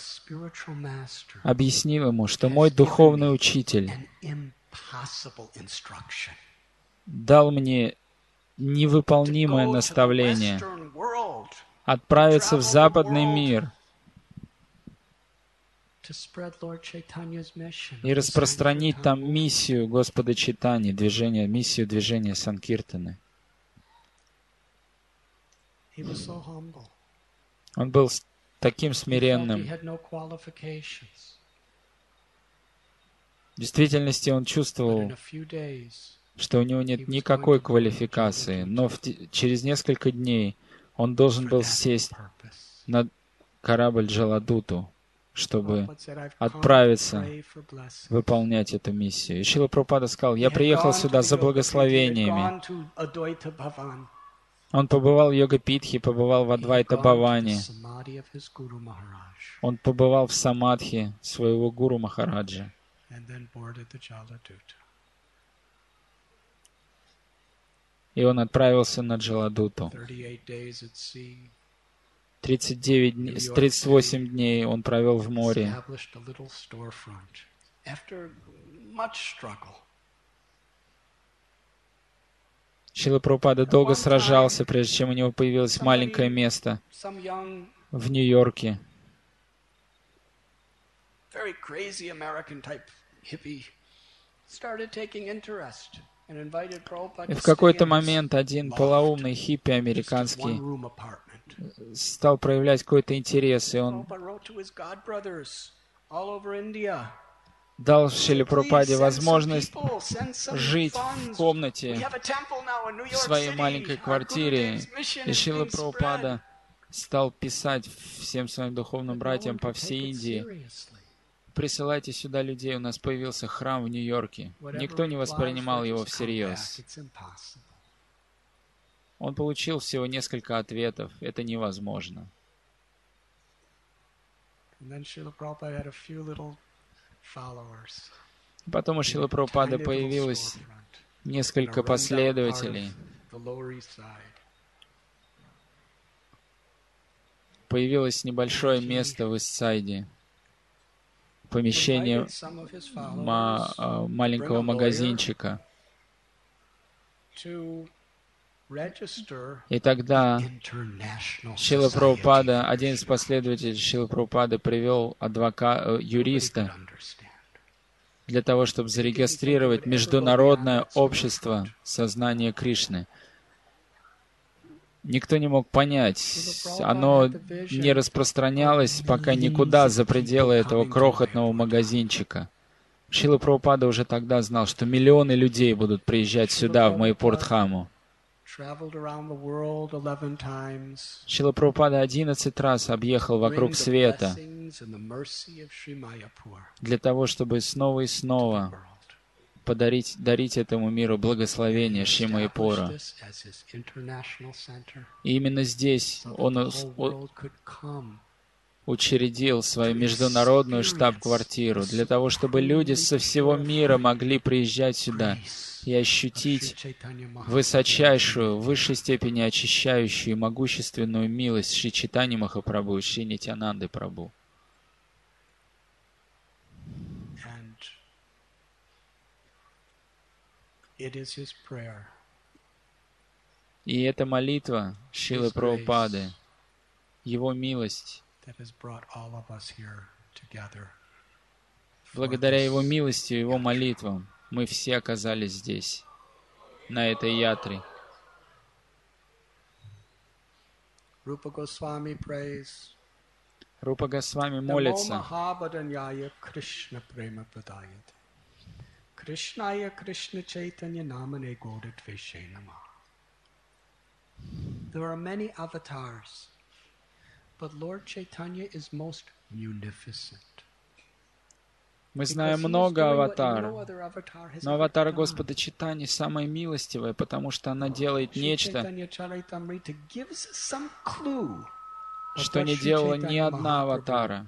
объяснил ему, что мой духовный учитель дал мне невыполнимое наставление отправиться в западный мир и распространить там миссию Господа Чайтаньи, миссию движения Санкиртаны. Он был таким смиренным. В действительности он чувствовал, что у него нет никакой квалификации, но через несколько дней он должен был сесть на корабль Джаладуту, чтобы отправиться выполнять эту миссию. И Шрила Прабхупада сказал: я приехал сюда за благословениями. Он побывал в Йога-Питхе, побывал в Адвайта Бхаване. Он побывал в самадхи своего гуру Махараджа. И он отправился на Джаладуту. 38 дней он провел в море. Шрила Прабхупада долго сражался, прежде чем у него появилось маленькое место в Нью-Йорке. very crazy American type hippie, started taking interest and invited Prabhupada И to в stay какой-то in his момент один loft, полоумный хиппи just a американский one-room apartment. стал проявлять какой-то интерес, и он Prabhupada wrote to his godbrothers all over India. дал He Шриле said, "Please Прабхупаде send some возможность people, send some жить в funds. We комнате have a temple now in New в York своей City. маленькой Our квартире. Gurudev's mission И is Шрила being spread." Прабхупада стал писать всем своим духовным But no братьям one по could take всей it Индии: seriously. присылайте сюда людей, у нас появился храм в Нью-Йорке. Никто не воспринимал его всерьез. It's impossible. Он получил всего несколько ответов. Это невозможно. And then Srila Prabhupada had a few little followers. Потом у Шрилы Прабхупады появилось несколько последователей. Появилось небольшое место в Ист-Сайде, помещение маленького магазинчика. И тогда Шрила Прабхупада, один из последователей Шрилы Прабхупады, привел юриста для того, чтобы зарегистрировать Международное общество сознания Кришны. Никто не мог понять, оно не распространялось пока никуда за пределы этого крохотного магазинчика. Шрила Прабхупада уже тогда знал, что миллионы людей будут приезжать сюда, в Майяпур-дхаму. Шрила Прабхупада 11 раз объехал вокруг света для того, чтобы снова и снова дарить этому миру благословение Шри Майяпура. И именно здесь он учредил свою международную штаб-квартиру для того, чтобы люди со всего мира могли приезжать сюда и ощутить высочайшую, в высшей степени очищающую и могущественную милость Шри Чайтаньи Махапрабху и Шри Нитьянанды Прабху. И это молитва Шрилы Прабхупады, его милость. Благодаря его милости и его молитвам мы все оказались здесь, на этой ятре. Рупа Госвами молится: Кришная Кришна Чайтанья Намане Года Двеше Нама. There are many avatars, but Lord Chaitanya is most munificent. Мы знаем много аватаров, но аватара Господа Чайтаньи самая милостивая, потому что она делает нечто, что не делала ни одна аватара.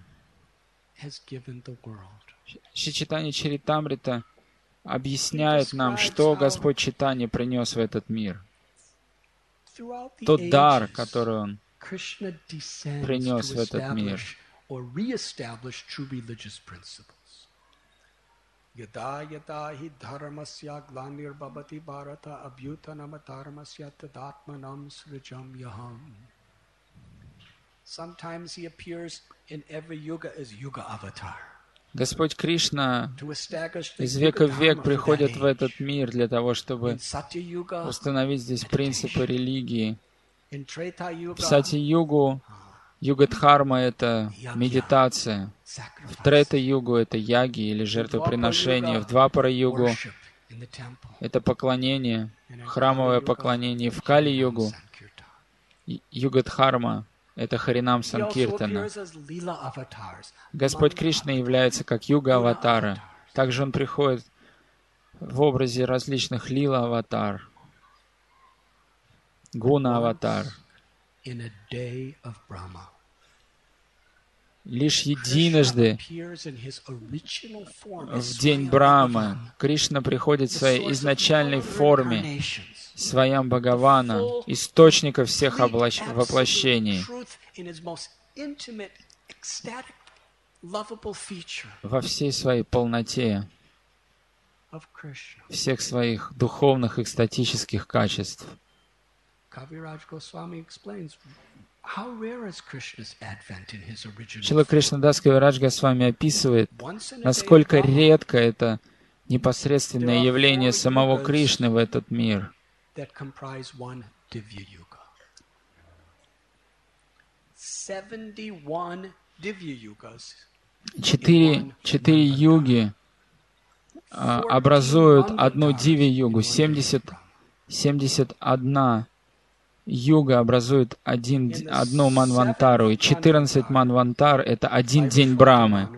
Шри Чайтанья Чаритамрита объясняет нам, что Господь Чайтанья принес в этот мир. Тот дар, который Он принес в этот мир. Yada yada hi dharmasya glanirvabhati bharata abhyutanamatarmasya tadatmanam srijam yaham. Sometimes he appears in every yuga as yuga avatar. Господь Кришна из века в век приходит в этот мир для того, чтобы установить здесь принципы религии. В Сати-югу юга-дхарма — это медитация. В Трета-югу — это яги или жертвоприношение. В Двапара-югу — это поклонение, храмовое поклонение. В Кали-югу юга-дхарма — это Харинам Санкиртана. Господь Кришна является как юга-аватара. Также Он приходит в образе различных лила-аватар, гуна-аватар. Лишь единожды в день Брамы Кришна приходит в своей изначальной форме, Своям Бхагавана, источника всех воплощений, во всей своей полноте, всех своих духовных экстатических качеств. Шрила Кришнадас Кавирадж Госвами описывает, насколько редко это непосредственное явление самого Кришны в этот мир. 4 юги образуют одну диви-югу, 71 юга образует одну манвантару, и 14 манвантар — это один день Брамы.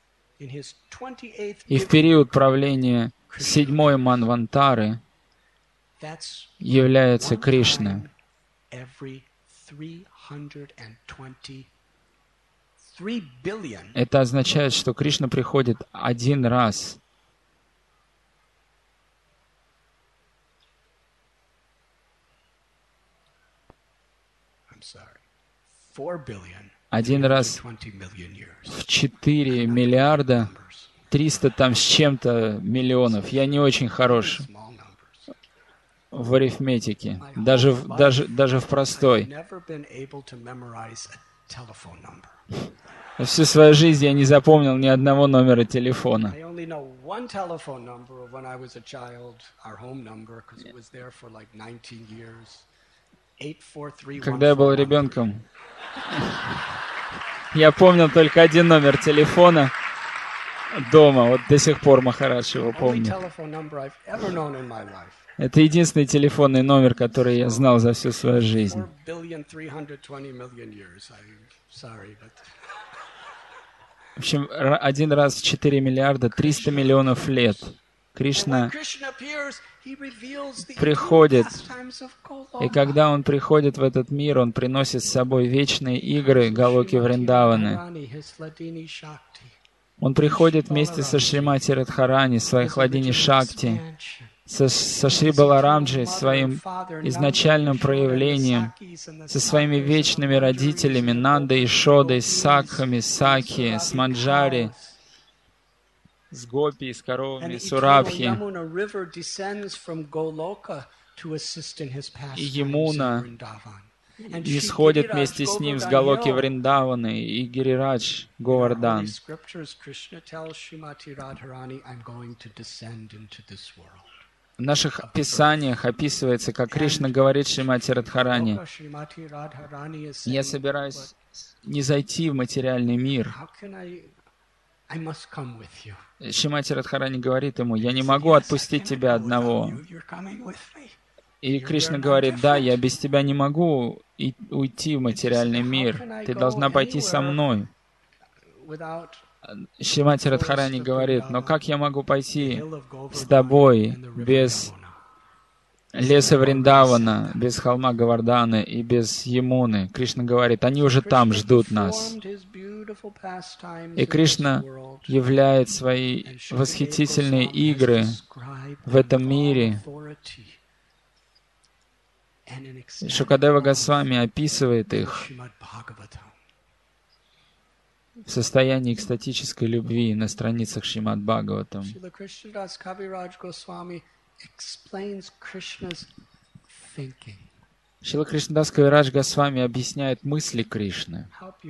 И в период правления 7-й манвантары является Кришна. Это означает, что Кришна приходит один раз. Один раз в 4 миллиарда 300 там с чем-то миллионов. Я не очень хорош в арифметике, даже в простой. Всю свою жизнь я не запомнил ни одного номера телефона. Когда я был ребенком, я помнил только один номер телефона дома. Вот до сих пор Махарадж его помнит. Это единственный телефонный номер, который я знал за всю свою жизнь. В общем, один раз в 4 миллиарда 300 миллионов лет Кришна приходит, и когда Он приходит в этот мир, Он приносит с собой вечные игры Галоки Вриндаваны. Он приходит вместе со Шримати Радхарани, своей Хладини Шакти, со Шри Баларамджи, своим изначальным проявлением, со своими вечными родителями Нандой и Шодой, с Сакхами, Сакхи, с Манджари, с Гопи, с коровами, с Урабхи. И Ямуна исходит вместе с ним с Галоки Вриндаваны и Гирирадж Говардан. В наших писаниях описывается, как Кришна говорит Шримати Радхарани: «Я собираюсь не зайти в материальный мир». Шримати Радхарани говорит ему: «Я не могу отпустить тебя одного». И Кришна говорит: «Да, я без тебя не могу уйти в материальный мир. Ты должна пойти со мной». Шримати Радхарани говорит: «Но как я могу пойти с тобой без леса Вриндавана, без холма Говарданы и без Ямуны?» Кришна говорит: «Они уже там ждут нас». И Кришна являет свои восхитительные игры в этом мире. Шукадева Госвами описывает их в состоянии экстатической любви на страницах Шримад Бхагаватам. Шрила Кришнадас Кавирадж Госвами объясняет мысли Кришны.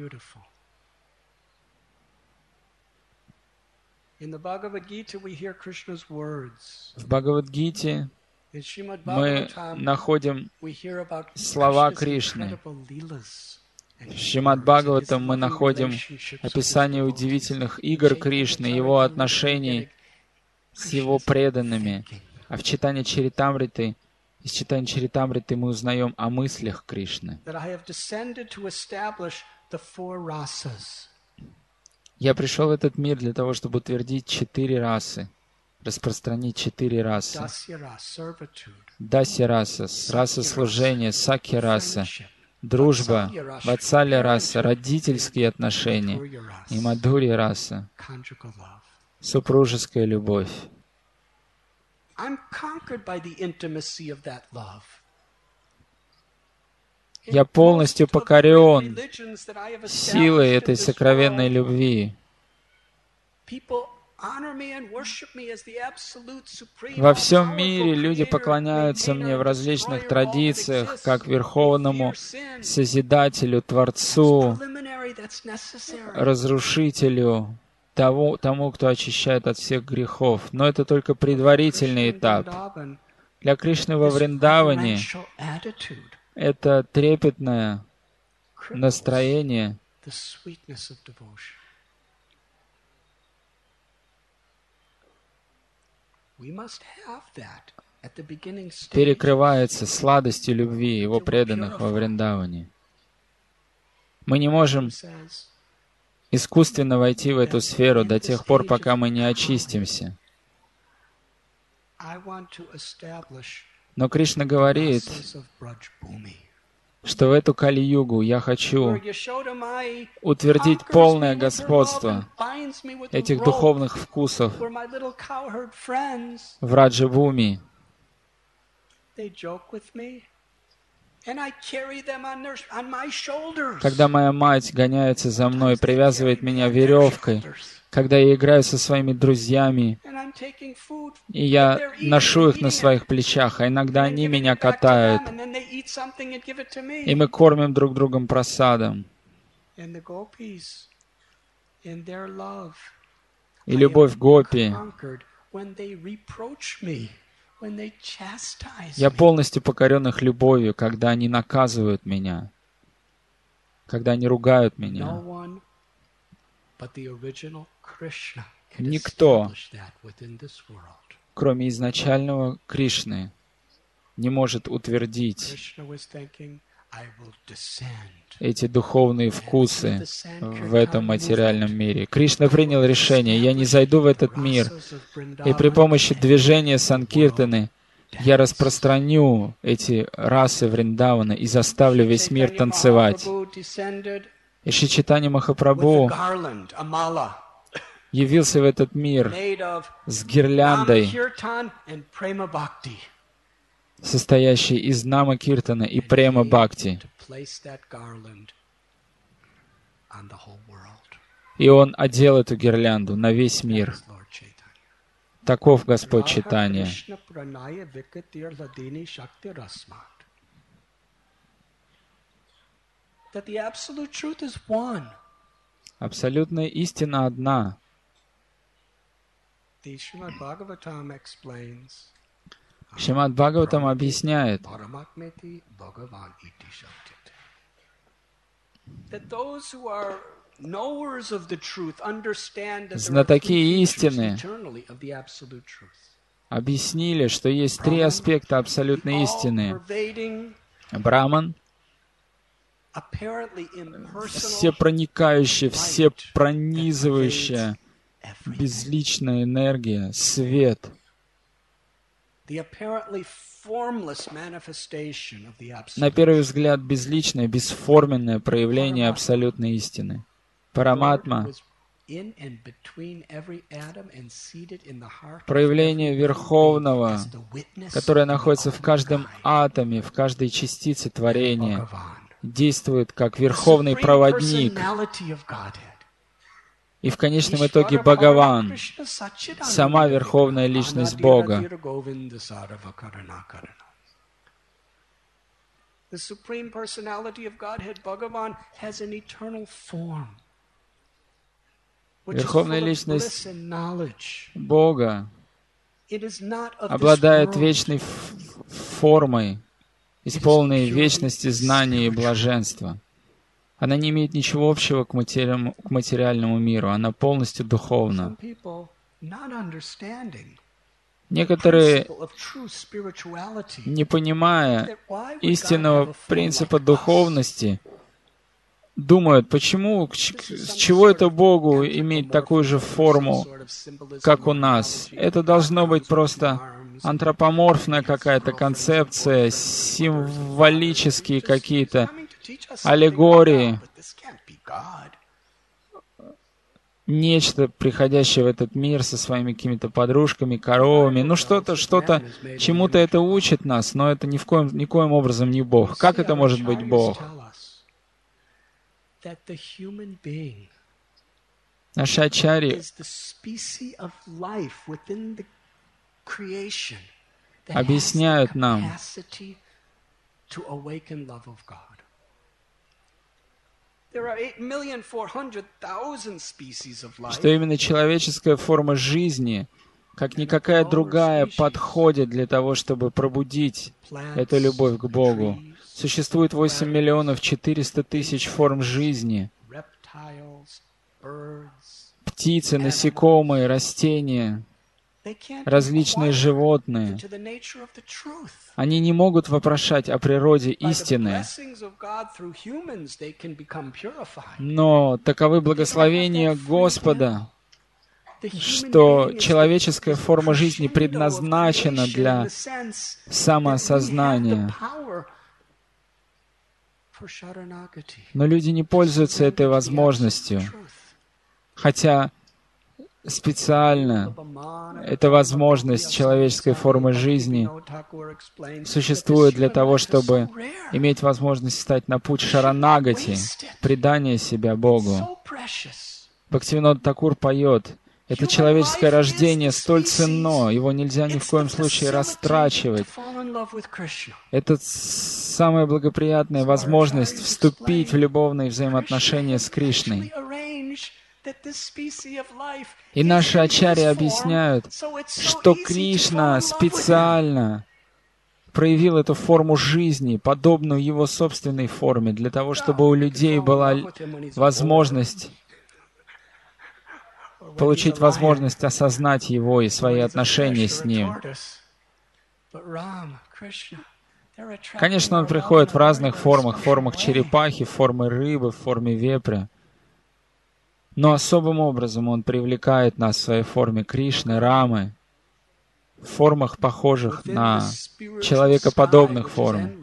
В Бхагавад-гите мы находим слова Кришны. В Шримад Бхагаватам мы находим описание удивительных игр Кришны, Его отношений с Его преданными. А в читании Чаритамриты, из читания Чаритамриты мы узнаем о мыслях Кришны. Я пришел в этот мир для того, чтобы утвердить 4 расы, распространить 4 расы. Дасья-раса, раса служения, сакья-раса, дружба, ватсалья-раса, родительские отношения и мадхурья-раса, супружеская любовь. Я полностью покорен силой этой сокровенной любви. Во всем мире люди поклоняются мне в различных традициях, как Верховному Созидателю, Творцу, Разрушителю, тому, кто очищает от всех грехов. Но это только предварительный этап. Для Кришны во Вриндаване это трепетное настроение, перекрывается сладостью любви Его преданных во Вриндаване. Мы не можем искусственно войти в эту сферу до тех пор, пока мы не очистимся. Но Кришна говорит, что в эту Кали-югу я хочу утвердить полное господство этих духовных вкусов в Раджа-бхуми. Когда моя мать гоняется за мной, привязывает меня веревкой, когда я играю со своими друзьями, и я ношу их на своих плечах, а иногда они меня катают, и мы кормим друг другом прасадом. И любовь гопи. Я полностью покорен их любовью, когда они наказывают меня, когда они ругают меня. Никто, кроме изначального Кришны, не может утвердить эти духовные вкусы в этом материальном мире. Кришна принял решение: я не зайду в этот мир, и при помощи движения Санкиртаны я распространю эти расы Вриндавана и заставлю весь мир танцевать. И Шри Чайтанья Махапрабху явился в этот мир с гирляндой, состоящей из Нама Киртана и Према Бхакти. И Он одел эту гирлянду на весь мир. Таков Господь Чайтанья. Абсолютная истина одна. Шримад Бхагаватам объясняет, знатоки истины объяснили, что есть три аспекта абсолютной истины. Браман, всепроникающая, всепронизывающая, безличная энергия, свет. На первый взгляд, безличное, бесформенное проявление абсолютной истины. Параматма, проявление Верховного, которое находится в каждом атоме, в каждой частице творения, действует как Верховный Проводник. И в конечном итоге Бхагаван, сама Верховная Личность Бога. Верховная Личность Бога обладает вечной формой, исполненной вечности, знания и блаженства. Она не имеет ничего общего к материальному миру. Она полностью духовна. Некоторые, не понимая истинного принципа духовности, думают, почему, с чего это Богу иметь такую же форму, как у нас? Это должно быть просто антропоморфная какая-то концепция, символические какие-то аллегории, нечто, приходящее в этот мир со своими какими-то подружками, коровами. Ну, что-то, чему-то это учит нас, но это никоим образом не Бог. Как это может быть Бог? Наши ачарьи is the species of life within the creation that has the объясняют нам, capacity to awaken love of God. There are 8,400,000 species of life. что именно человеческая форма жизни, как никакая другая, подходит для того, чтобы пробудить эту любовь к Богу. Существует 8 миллионов 400 тысяч форм жизни. Птицы, насекомые, растения, различные животные. Они не могут вопрошать о природе истины, но таковы благословения Господа, что человеческая форма жизни предназначена для самоосознания. Но люди не пользуются этой возможностью, хотя специально эта возможность человеческой формы жизни существует для того, чтобы иметь возможность стать на путь шаранагати, предания себя Богу. Бхактивинода Такур поет: это человеческое рождение столь ценно, его нельзя ни в коем случае растрачивать. Это самая благоприятная возможность вступить в любовные взаимоотношения с Кришной. И наши ачарьи объясняют, что Кришна специально проявил эту форму жизни, подобную его собственной форме, для того, чтобы у людей была возможность получить возможность осознать его и свои отношения с ним. Конечно, он приходит в разных формах черепахи, в форме рыбы, в форме вепря. Но особым образом он привлекает нас в своей форме Кришны, Рамы, в формах, похожих на человекоподобных форм.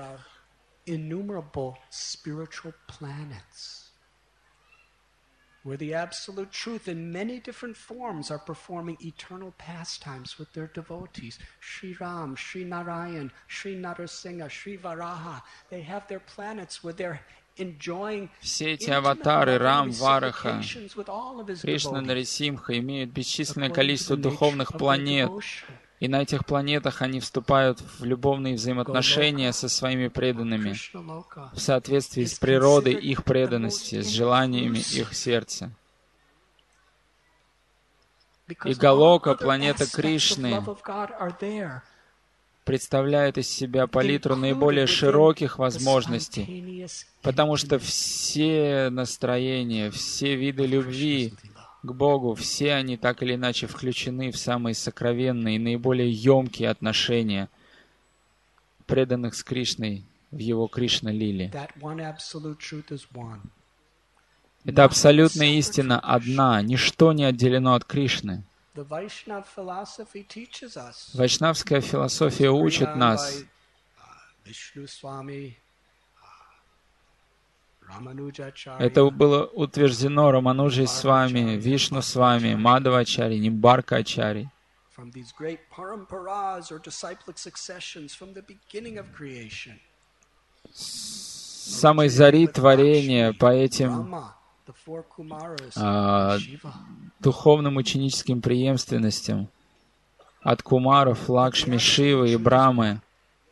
Where the absolute truth in many different forms are performing eternal pastimes with their devotees. Sri Ram, Sri Narayan, Sri Narasimha, Sri Varaha. They have their planets where they're enjoying все эти аватары Рам, Вараха, Кришна, Нарисимха имеют бесчисленное количество духовных планет. И на этих планетах они вступают в любовные взаимоотношения со своими преданными в соответствии с природой их преданности, с желаниями их сердца. И Галока, планета Кришны, представляет из себя палитру наиболее широких возможностей, потому что все настроения, все виды любви к Богу, все они так или иначе включены в самые сокровенные и наиболее емкие отношения преданных с Кришной в его Кришна-лиле. Эта абсолютная истина одна, ничто не отделено от Кришны. Вайшнавская философия учит нас, это было утверждено Рамануджей с вами, Вишну с вами, Мадхавачари, Нимбарка-ачари. С самой зари творения по этим духовным ученическим преемственностям от Кумаров, Лакшми, Шивы и Брамы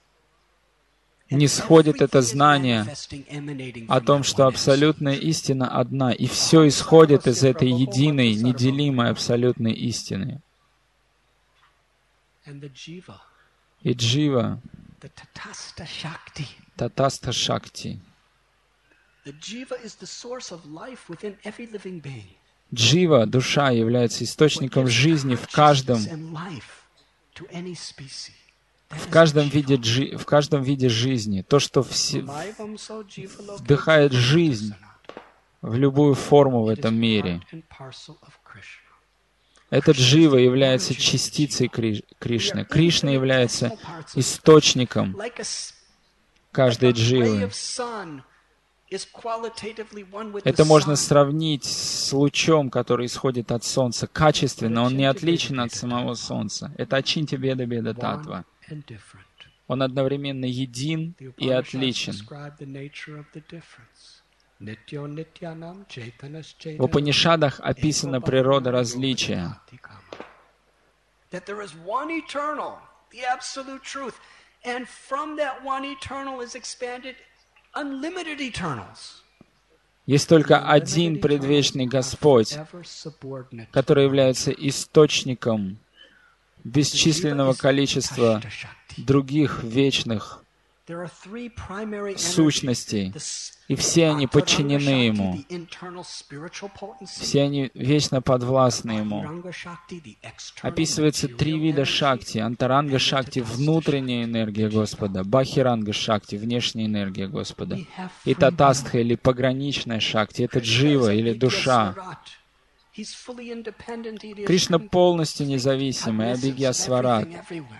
нисходит это знание о том, что абсолютная истина одна, и все исходит из этой единой, неделимой абсолютной истины. И джива, татаста шакти. Джива, душа, является источником жизни в каждом виде жизни. То, что вдыхает жизнь в любую форму в этом мире. Этот джива является частицей Кришны. Кришна является источником каждой дживы. Это можно сравнить с лучом, который исходит от Солнца. Качественно он не отличен от самого Солнца. Это ачинтя беда беда татва. Он одновременно един и отличен. В Упанишадах описана природа различия. Есть только один предвечный Господь, который является источником бесчисленного количества других вечных сущностей, и все они подчинены Ему. Все они вечно подвластны Ему. Описывается 3 вида шакти. Антаранга шакти — внутренняя энергия Господа, бахиранга шакти — внешняя энергия Господа, и татастха или пограничная шакти — это джива или душа. Кришна полностью независимый, Абхигья Сварат.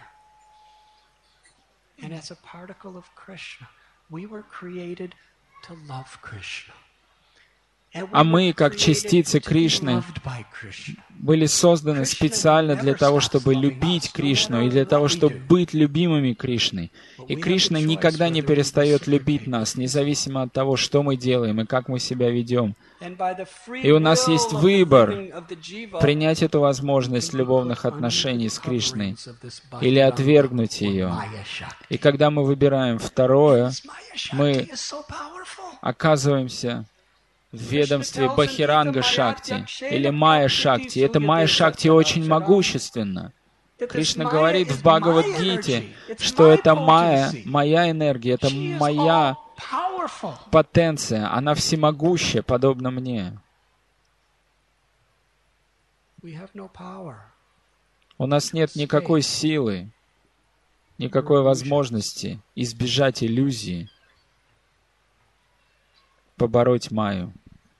А мы, как частицы Кришны, были созданы специально для того, чтобы любить Кришну и для того, чтобы быть любимыми Кришной. И Кришна никогда не перестает любить нас, независимо от того, что мы делаем и как мы себя ведем. И у нас есть выбор принять эту возможность любовных отношений с Кришной или отвергнуть ее. И когда мы выбираем второе, мы оказываемся в ведомстве Бахиранга Шакти или Майя Шакти. Это Майя Шакти очень могущественно. Кришна говорит в Бхагавад-гите, что это Майя, моя энергия, это моя потенция, она всемогущая, подобно мне. У нас нет никакой силы, никакой возможности избежать иллюзии, побороть Майю.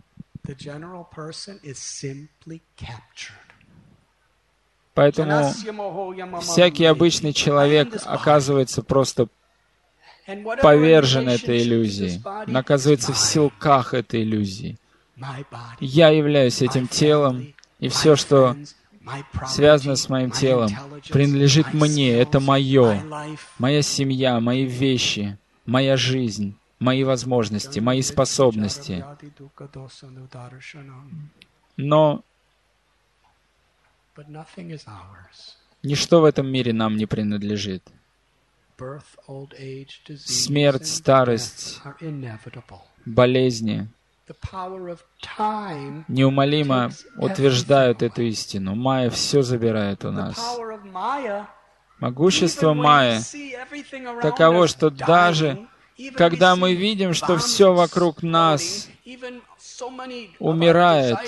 Поэтому всякий обычный человек оказывается просто повержен этой иллюзии, он оказывается в силках этой иллюзии. Я являюсь этим телом, и все, что связано с моим телом, принадлежит мне, это мое, моя семья, мои вещи, моя жизнь, мои возможности, мои способности. Но ничто в этом мире нам не принадлежит. Смерть, старость, болезни неумолимо утверждают эту истину. Майя все забирает у нас. Могущество Майи таково, что даже когда мы видим, что все вокруг нас умирает,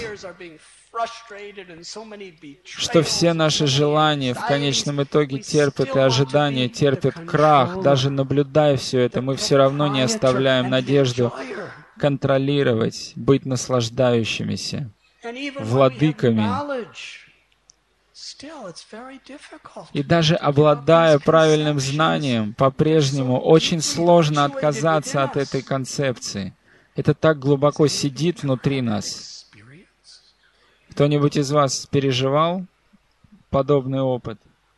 что все наши желания в конечном итоге терпят и ожидания, терпят крах, даже наблюдая все это, мы все равно не оставляем надежду контролировать, быть наслаждающимися, владыками. И даже обладая правильным знанием, по-прежнему очень сложно отказаться от этой концепции. Это так глубоко сидит внутри нас. Кто-нибудь из вас переживал подобный опыт?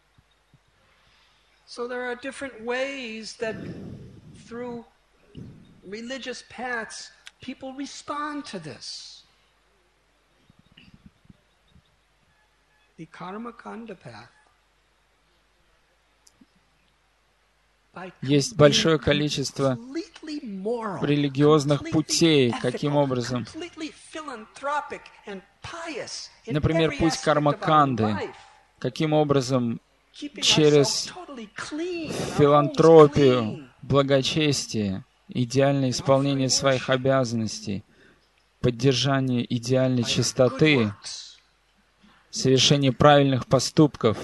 Есть большое количество религиозных путей, каким образом. Например, путь карма-канды, каким образом через филантропию, благочестие, идеальное исполнение своих обязанностей, поддержание идеальной чистоты, совершение правильных поступков.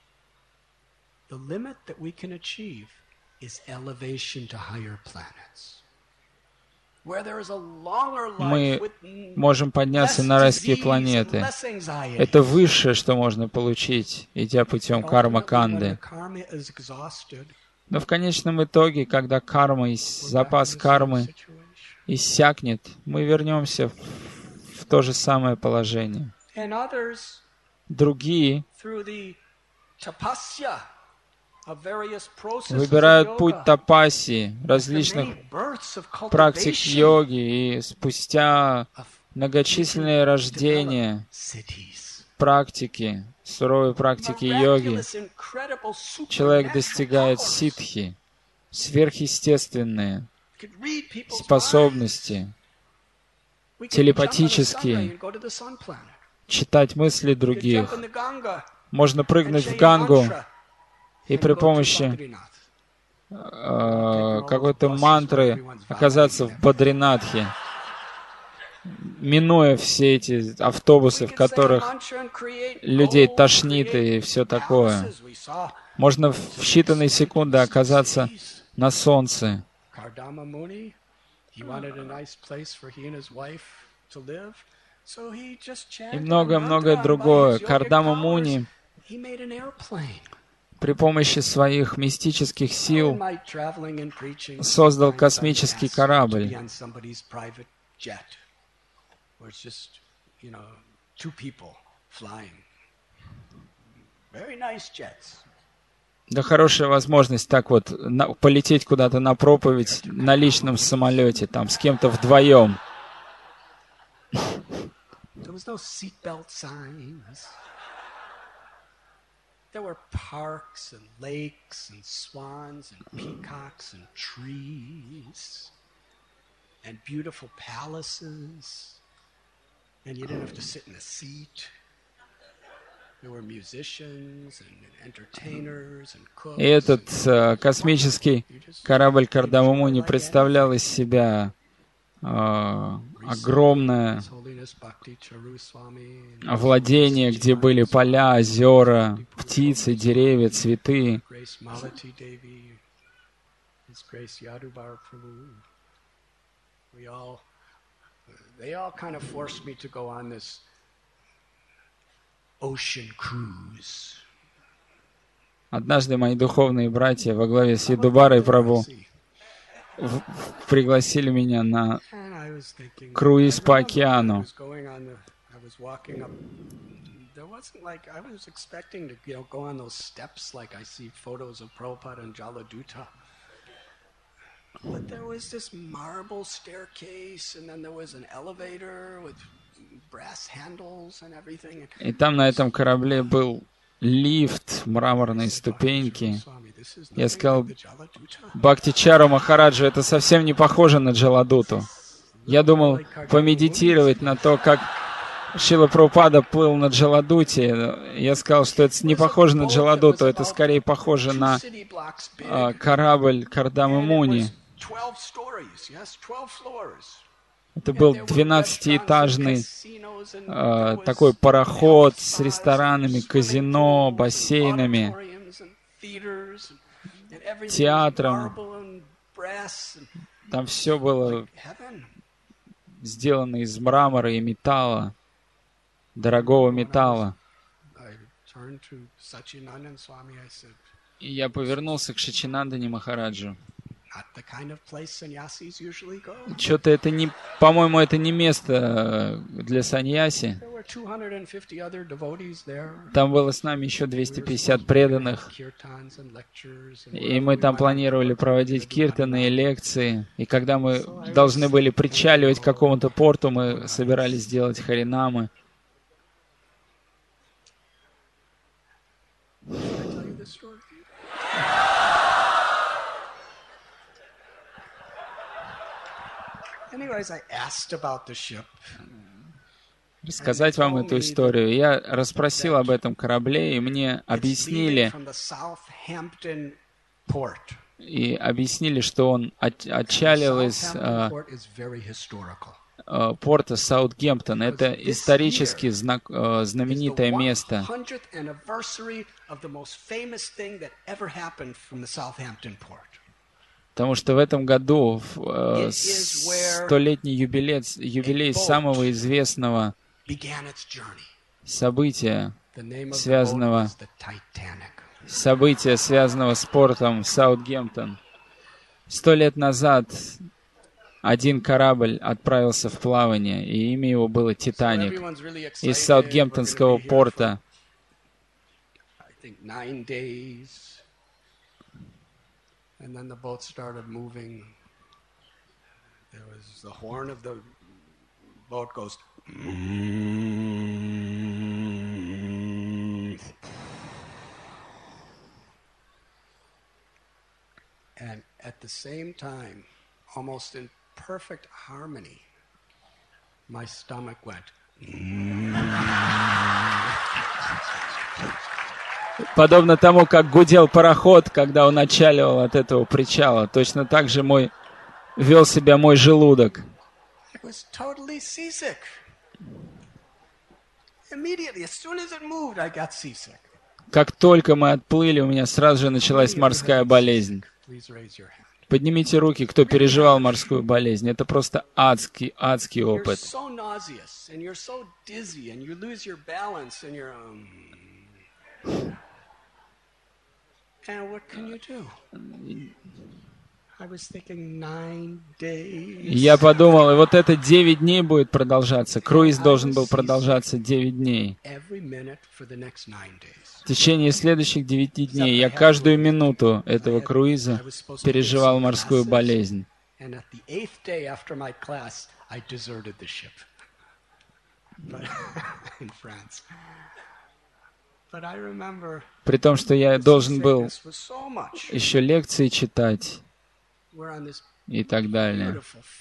Мы можем подняться на райские планеты. Это высшее, что можно получить, идя путем карма-канды. Но в конечном итоге, когда карма, запас кармы иссякнет, мы вернемся в то же самое положение. Другие выбирают путь тапаси, различных практик йоги, и спустя многочисленные рождения, практики, суровой практики йоги, человек достигает ситхи, сверхъестественные способности, телепатические, читать мысли других. Можно прыгнуть в Гангу и при помощи какой-то мантры оказаться в Бадринатхе, минуя все эти автобусы, в которых людей тошнит и все такое. Можно в считанные секунды оказаться на солнце. И многое-многое другое. Кардама Муни при помощи своих мистических сил создал космический корабль. Да, хорошая возможность так вот полететь куда-то на проповедь на личном самолете, там, с кем-то вдвоем. There were parks and lakes and swans and peacocks and trees and beautiful palaces, and you didn't have to sit in a seat. There were musicians and entertainers and cooks. И этот космический корабль Кардама Муни представлял из себя огромное владение, где были поля, озера, птицы, деревья, цветы. Однажды мои духовные братья во главе с Ядубарой Прабху пригласили меня на круиз по океану. И там на этом корабле был лифт, мраморные ступеньки. Я сказал, Бхактичару Махараджу, это совсем не похоже на Джаладуту. Я думал помедитировать на то, как Шрила Прабхупада плыл на Джаладуте. Я сказал, что это не похоже на Джаладуту, это скорее похоже на корабль Кардамы Муни. Это был 12-этажный такой пароход с ресторанами, казино, бассейнами, театром. Там все было сделано из мрамора и металла, дорогого металла. И я повернулся к Шачинандане Махараджу. Что-то это не, по-моему, это не место для саньяси. Там было с нами еще 250 преданных. И мы там планировали проводить киртаны и лекции. И когда мы должны были причаливать к какому-то порту, мы собирались сделать харинамы. Рассказать вам эту историю. Я расспросил об этом корабле, и мне объяснили, что он отчалил из порта Саутгемптон. Это исторически знаменитое место. Потому что в этом году столетний юбилей самого известного события, связанного с портом Саутгемптон. 100 лет назад один корабль отправился в плавание, и имя его было «Титаник» из Саутгемптонского порта. And then the boat started moving. There was the horn of the boat goes. And at the same time, almost in perfect harmony, my stomach went. Подобно тому, как гудел пароход, когда он отчаливал от этого причала, точно так же вел себя мой желудок. Как только мы отплыли, у меня сразу же началась морская болезнь. Поднимите руки, кто переживал морскую болезнь. Это просто адский опыт. Я подумал, и вот это 9 дней будет продолжаться. Круиз должен был продолжаться 9 дней. В течение следующих 9 дней я каждую минуту этого круиза переживал морскую болезнь. При том, что я должен был еще лекции читать и так далее.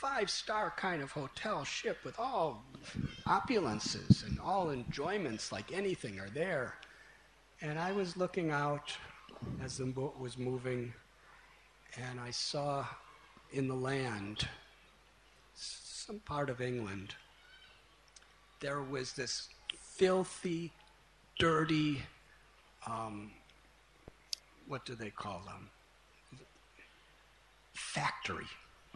And I was looking out as the boat was moving, and I saw in the land, some part of England, there was this filthy, dirty, what do they call them? Factory,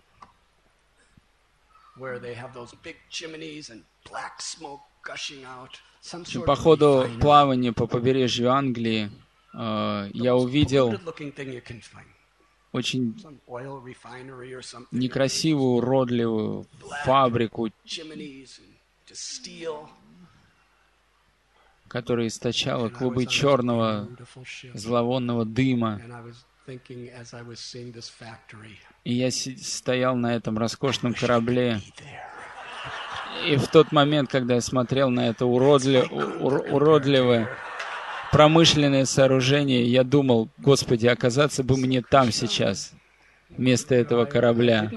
where they have those big chimneys and black smoke gushing out. По ходу плавания по побережью Англии я увидел очень некрасивую, уродливую фабрику, которая источала клубы черного зловонного дыма. И я стоял на этом роскошном корабле. И в тот момент, когда я смотрел на это уродливое промышленное сооружение, я думал, Господи, оказаться бы мне там сейчас, вместо этого корабля.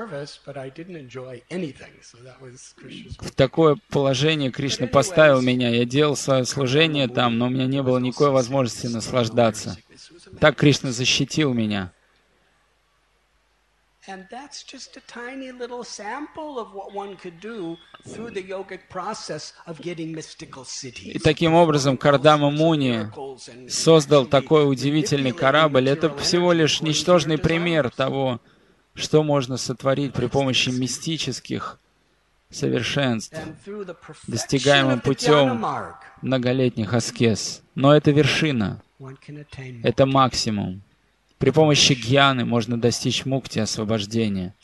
В такое положение Кришна поставил меня. Я делал свое служение там, но у меня не было никакой возможности наслаждаться. Так Кришна защитил меня. And that's just a tiny little sample of what one could do through the yogic process of getting mystical cities. И таким образом Кардама Муни создал такой удивительный корабль. Это всего лишь ничтожный пример того, что можно сотворить при помощи мистических совершенств, достигаемым путем многолетних аскез. Но это вершина, это максимум. При помощи гьяны можно достичь мукти, освобождения.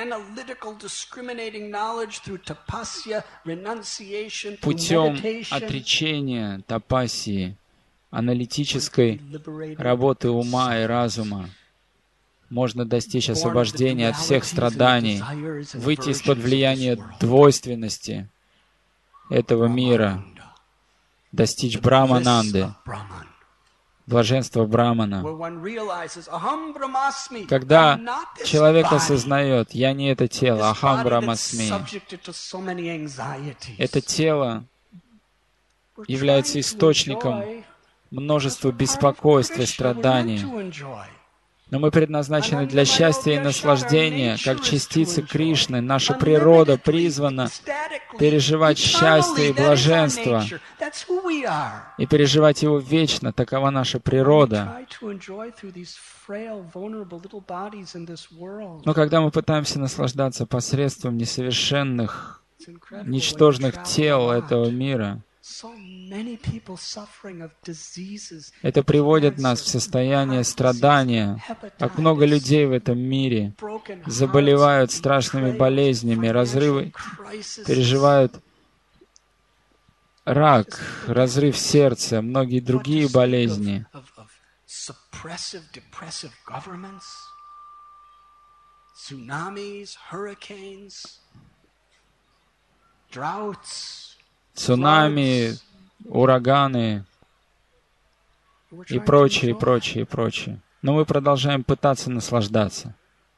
Путем отречения, тапассии, аналитической работы ума и разума можно достичь освобождения от всех страданий, выйти из-под влияния двойственности этого мира, достичь Брахмананды, блаженство Брамана. Когда человек осознает, я не это тело, ахам брамасми, это тело является источником множества беспокойств и страданий. Но мы предназначены для счастья и наслаждения, как частицы Кришны. Наша природа призвана переживать счастье и блаженство, и переживать его вечно. Такова наша природа. Но когда мы пытаемся наслаждаться посредством несовершенных, ничтожных тел этого мира, это приводит нас в состояние страдания. Как много людей в этом мире заболевают страшными болезнями, разрывы, переживают рак, разрыв сердца, многие другие болезни. цунами, ураганы и прочее, и прочее, и прочее. Но мы продолжаем пытаться наслаждаться.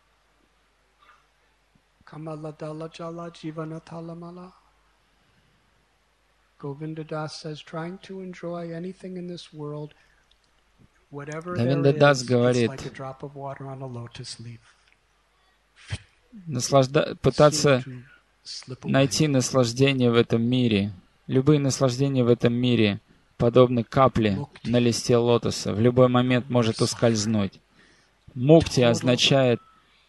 Говинда Дас говорит, пытаться найти наслаждение в этом мире. Любые наслаждения в этом мире подобны капле на листе лотоса. В любой момент может ускользнуть. Мукти означает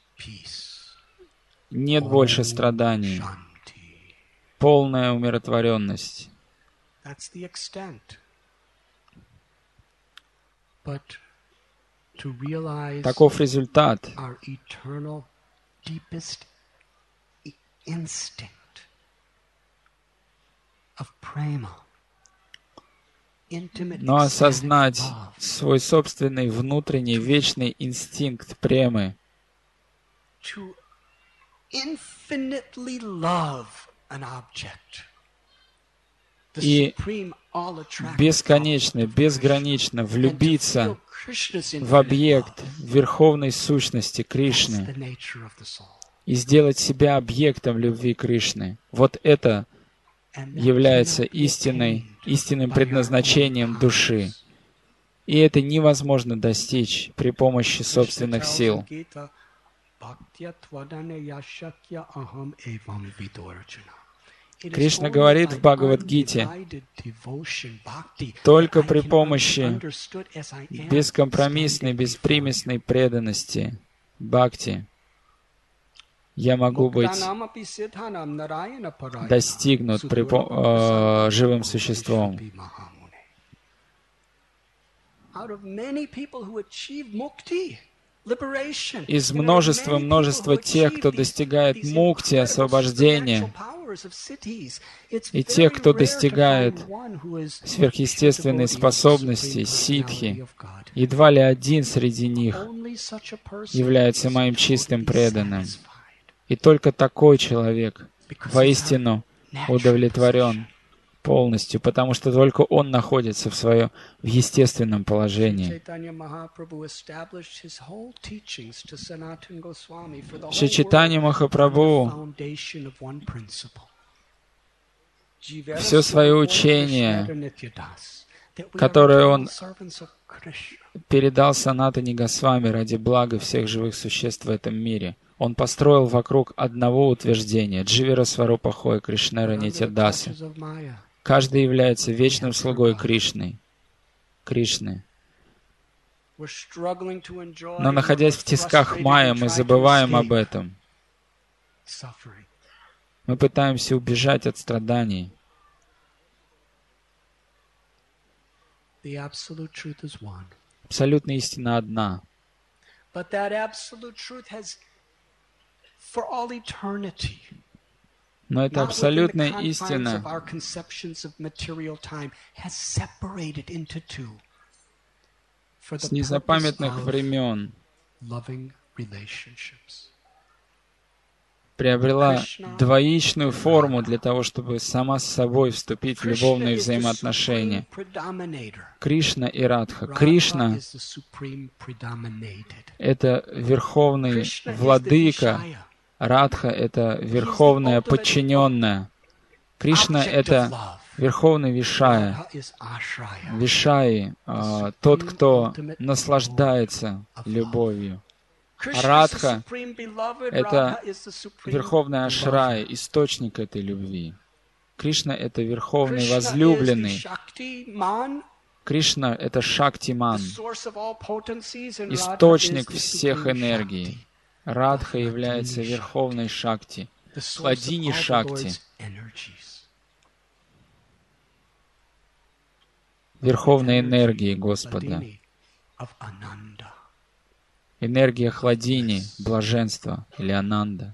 нет больше страданий, полная умиротворенность. Таков результат. Но осознать свой собственный внутренний вечный инстинкт премы, и бесконечно, безгранично влюбиться в объект верховной сущности Кришны и сделать себя объектом любви Кришны. Вот это является истинным предназначением души. И это невозможно достичь при помощи собственных сил. Кришна говорит в Бхагавад-гите, только при помощи бескомпромиссной, беспримесной преданности, бхакти, я могу быть достигнут живым существом. Из множества тех, кто достигает мукти, освобождения, и тех, кто достигает сверхъестественной способности, ситхи, едва ли один среди них является моим чистым преданным. И только такой человек воистину удовлетворен полностью, потому что только он находится в естественном положении. Шри Чайтанья Махапрабху все свое учение, которое он передал Санатане Госвами ради блага всех живых существ в этом мире, он построил вокруг одного утверждения — Дживира Сварупа Хой Кришнера Нитьядасы. Каждый является вечным слугой Кришны. Но, находясь в тисках майя, мы забываем об этом. Мы пытаемся убежать от страданий. Абсолютная истина одна. Но эта абсолютная истина с незапамятных времен приобрела двоичную форму для того, чтобы сама с собой вступить в любовные взаимоотношения. Кришна и Радха. Кришна — это верховный владыка, Радха — это верховная подчиненная. Кришна — это верховный Вишая. Вишаи — тот, кто наслаждается любовью. Радха — это верховный Ашрай, источник этой любви. Кришна — это верховный возлюбленный. Кришна — это Шактиман, источник всех энергий. Радха является верховной Шакти, Хладини Шакти, верховной энергией Господа. Энергия Хладини, блаженства или Ананда.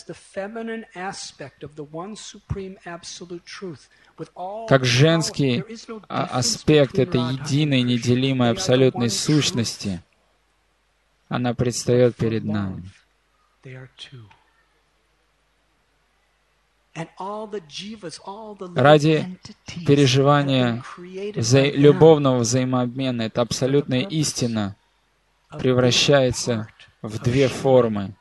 Как женский аспект этой единой, неделимой абсолютной сущности, она предстает перед нами. Ради переживания любовного взаимообмена эта абсолютная истина превращается в две формы.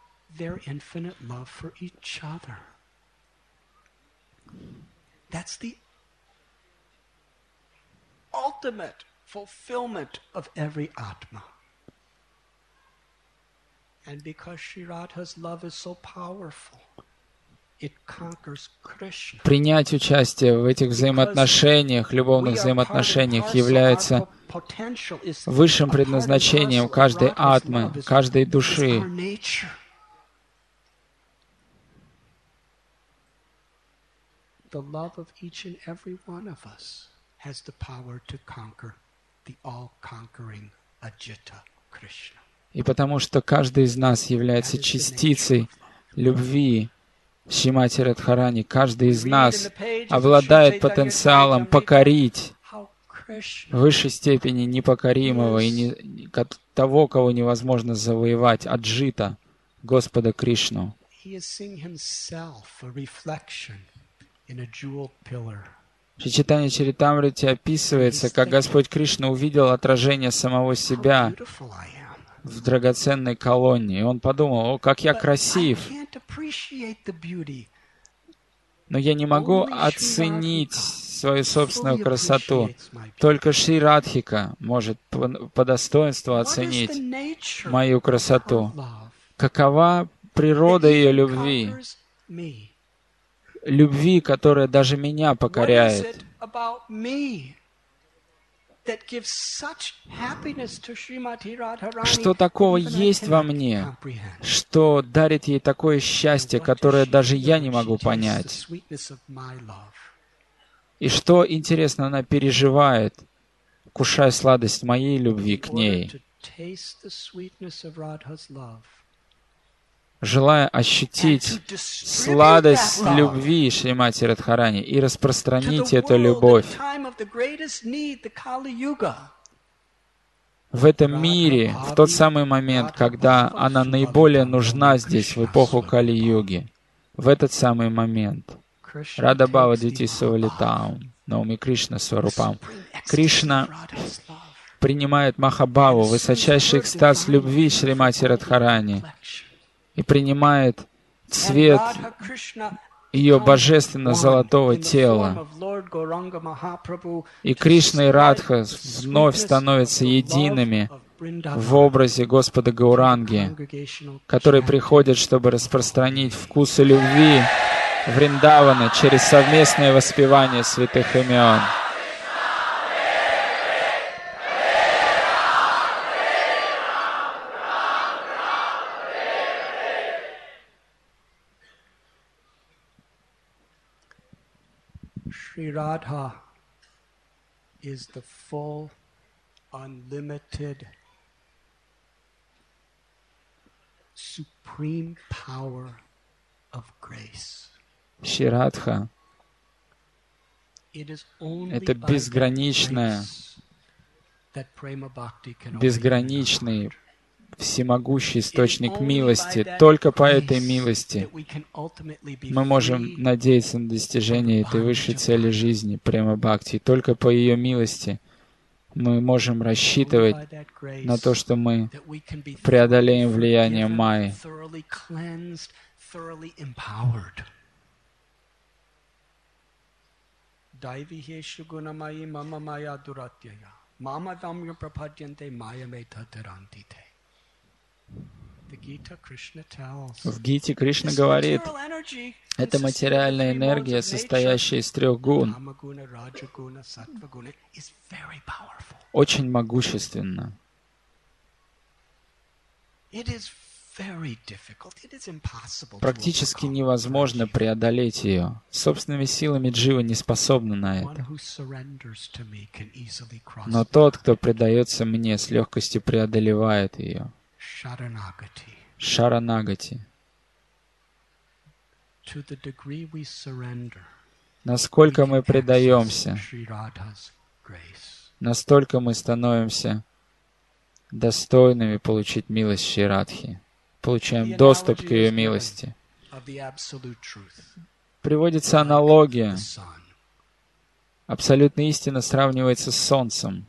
And because Sri Radha's love is so powerful, it conquers Krishna. Принять участие в этих взаимоотношениях, любовных взаимоотношениях, является высшим предназначением каждой атмы, каждой души. The love of each and every one of us has the power to conquer the all-conquering Ajita Krishna. И потому что каждый из нас является частицей любви Шримати Радхарани, каждый из нас обладает потенциалом покорить в высшей степени непокоримого и того, кого невозможно завоевать, Аджита, Господа Кришну. В Чайтанья Чаритамрите описывается, как Господь Кришна увидел отражение самого себя в драгоценной колонне. И он подумал: о, как я красив! Но я не могу оценить свою собственную красоту. Только Шри Радхика может по достоинству оценить мою красоту. Какова природа ее любви? Любви, которая даже меня покоряет. Что такого есть во мне, что дарит ей такое счастье, которое даже я не могу понять? И что, интересно, она переживает, кушая сладость моей любви к ней, желая ощутить сладость любви Шримати Радхарани и распространить эту любовь в этом мире, в тот самый момент, когда она наиболее нужна здесь, в эпоху Кали-юги. В этот самый момент. Рада Бхава Двити Савалитаум, Науми Кришна Сварупам. Кришна принимает Махабхаву, высочайший экстаз любви Шримати Радхарани, и принимает цвет ее божественно-золотого тела. И Кришна и Радха вновь становятся едиными в образе Господа Гауранги, который приходит, чтобы распространить вкусы любви Вриндавана через совместное воспевание святых имен. Sri Radha is the full, unlimited, supreme power of grace. Шри Радха — это безграничный, всемогущий источник милости. Только по этой милости мы можем надеяться на достижение этой высшей цели жизни, према бхакти. Только по ее милости мы можем рассчитывать на то, что мы преодолеем влияние майи. В Гите Кришна говорит, это материальная энергия, состоящая из трех гун, очень могущественна. Практически невозможно преодолеть ее. Собственными силами джива не способна на это. Но тот, кто предается мне, с легкостью преодолевает ее. Шаранагати. Насколько мы предаемся, настолько мы становимся достойными получить милость Шри Радхи. получаем доступ к ее милости. Приводится аналогия. Абсолютная истина сравнивается с солнцем.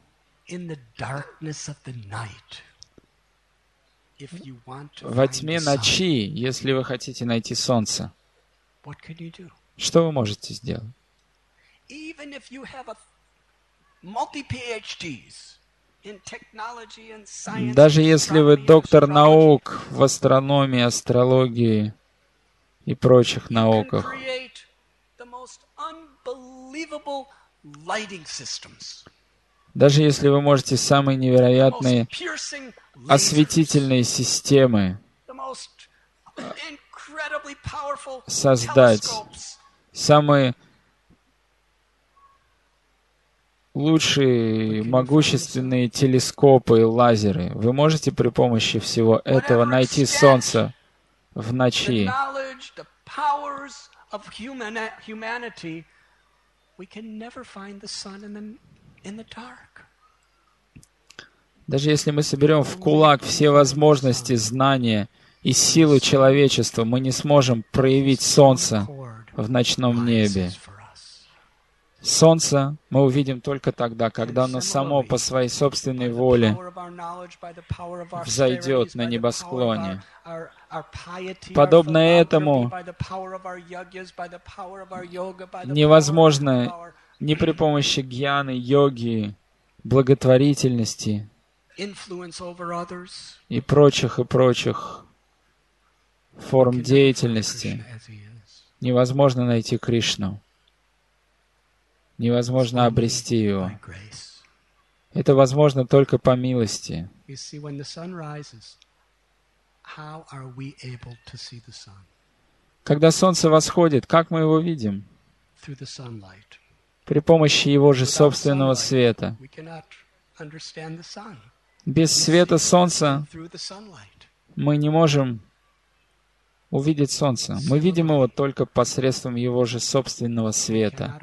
Во тьме ночи, если вы хотите найти солнце, что вы можете сделать? Даже если вы доктор наук в астрономии, астрологии и прочих науках, даже если вы можете самые невероятные осветительные системы создать, самые лучшие могущественные телескопы и лазеры, вы можете при помощи всего этого найти Солнце в ночи. Даже если мы соберем в кулак все возможности, знания и силу человечества, мы не сможем проявить Солнце в ночном небе. Солнце мы увидим только тогда, когда оно само по своей собственной воле взойдет на небосклоне. Подобно этому невозможно ни при помощи гьяны, йоги, благотворительности и прочих форм деятельности невозможно найти Кришну. Невозможно обрести Его. Это возможно только по милости. Когда солнце восходит, как мы его видим? При помощи его же собственного света. Без света солнца мы не можем увидеть солнце. Мы видим его только посредством его же собственного света.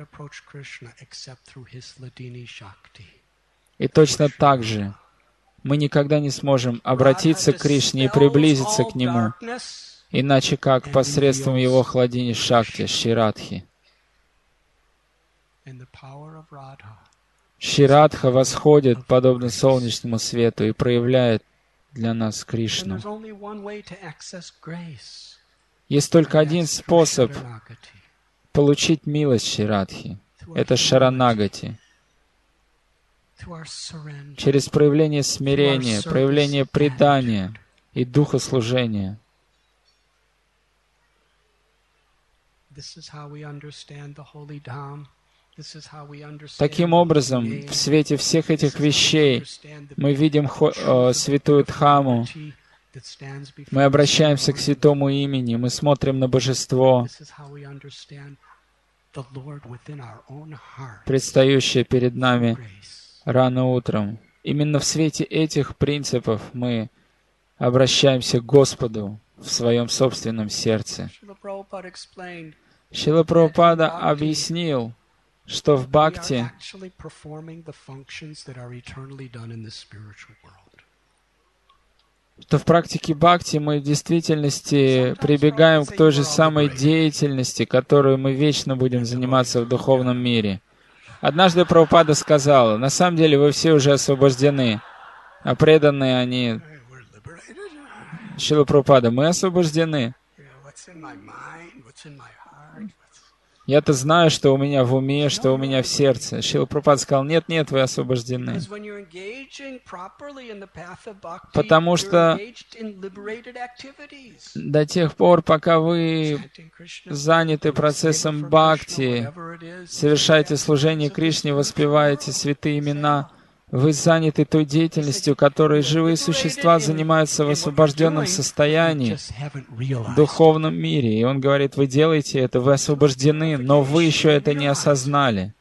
И точно так же мы никогда не сможем обратиться к Кришне и приблизиться к Нему, иначе как посредством его хладини Шакти, Ширадхи. Ширадха восходит, подобно солнечному свету, и проявляет для нас Кришну. Есть только один способ получить милость Ширадхи. Это Шаранагати. Через проявление смирения, проявление предания и духослужения. Таким образом, в свете всех этих вещей мы видим святую Дхамму, мы обращаемся к святому имени, мы смотрим на Божество, предстающее перед нами рано утром. Именно в свете этих принципов мы обращаемся к Господу в своем собственном сердце. Шрила Прабхупада объяснил, что в бхакти в практике бхакти мы в действительности прибегаем к той же самой деятельности, которую мы вечно будем заниматься в духовном мире. Однажды Прабхупада сказал: на самом деле вы все уже освобождены, а преданные они... Шрила Прабхупада, мы освобождены. Я-то знаю, что у меня в уме, что у меня в сердце. Шрила Прабхупада сказал: нет, вы освобождены. Потому что до тех пор, пока вы заняты процессом бхакти, совершаете служение Кришне, воспеваете святые имена, вы заняты той деятельностью, которой живые существа занимаются в освобожденном состоянии, в духовном мире. И он говорит: вы делаете это, вы освобождены, но вы еще это не осознали.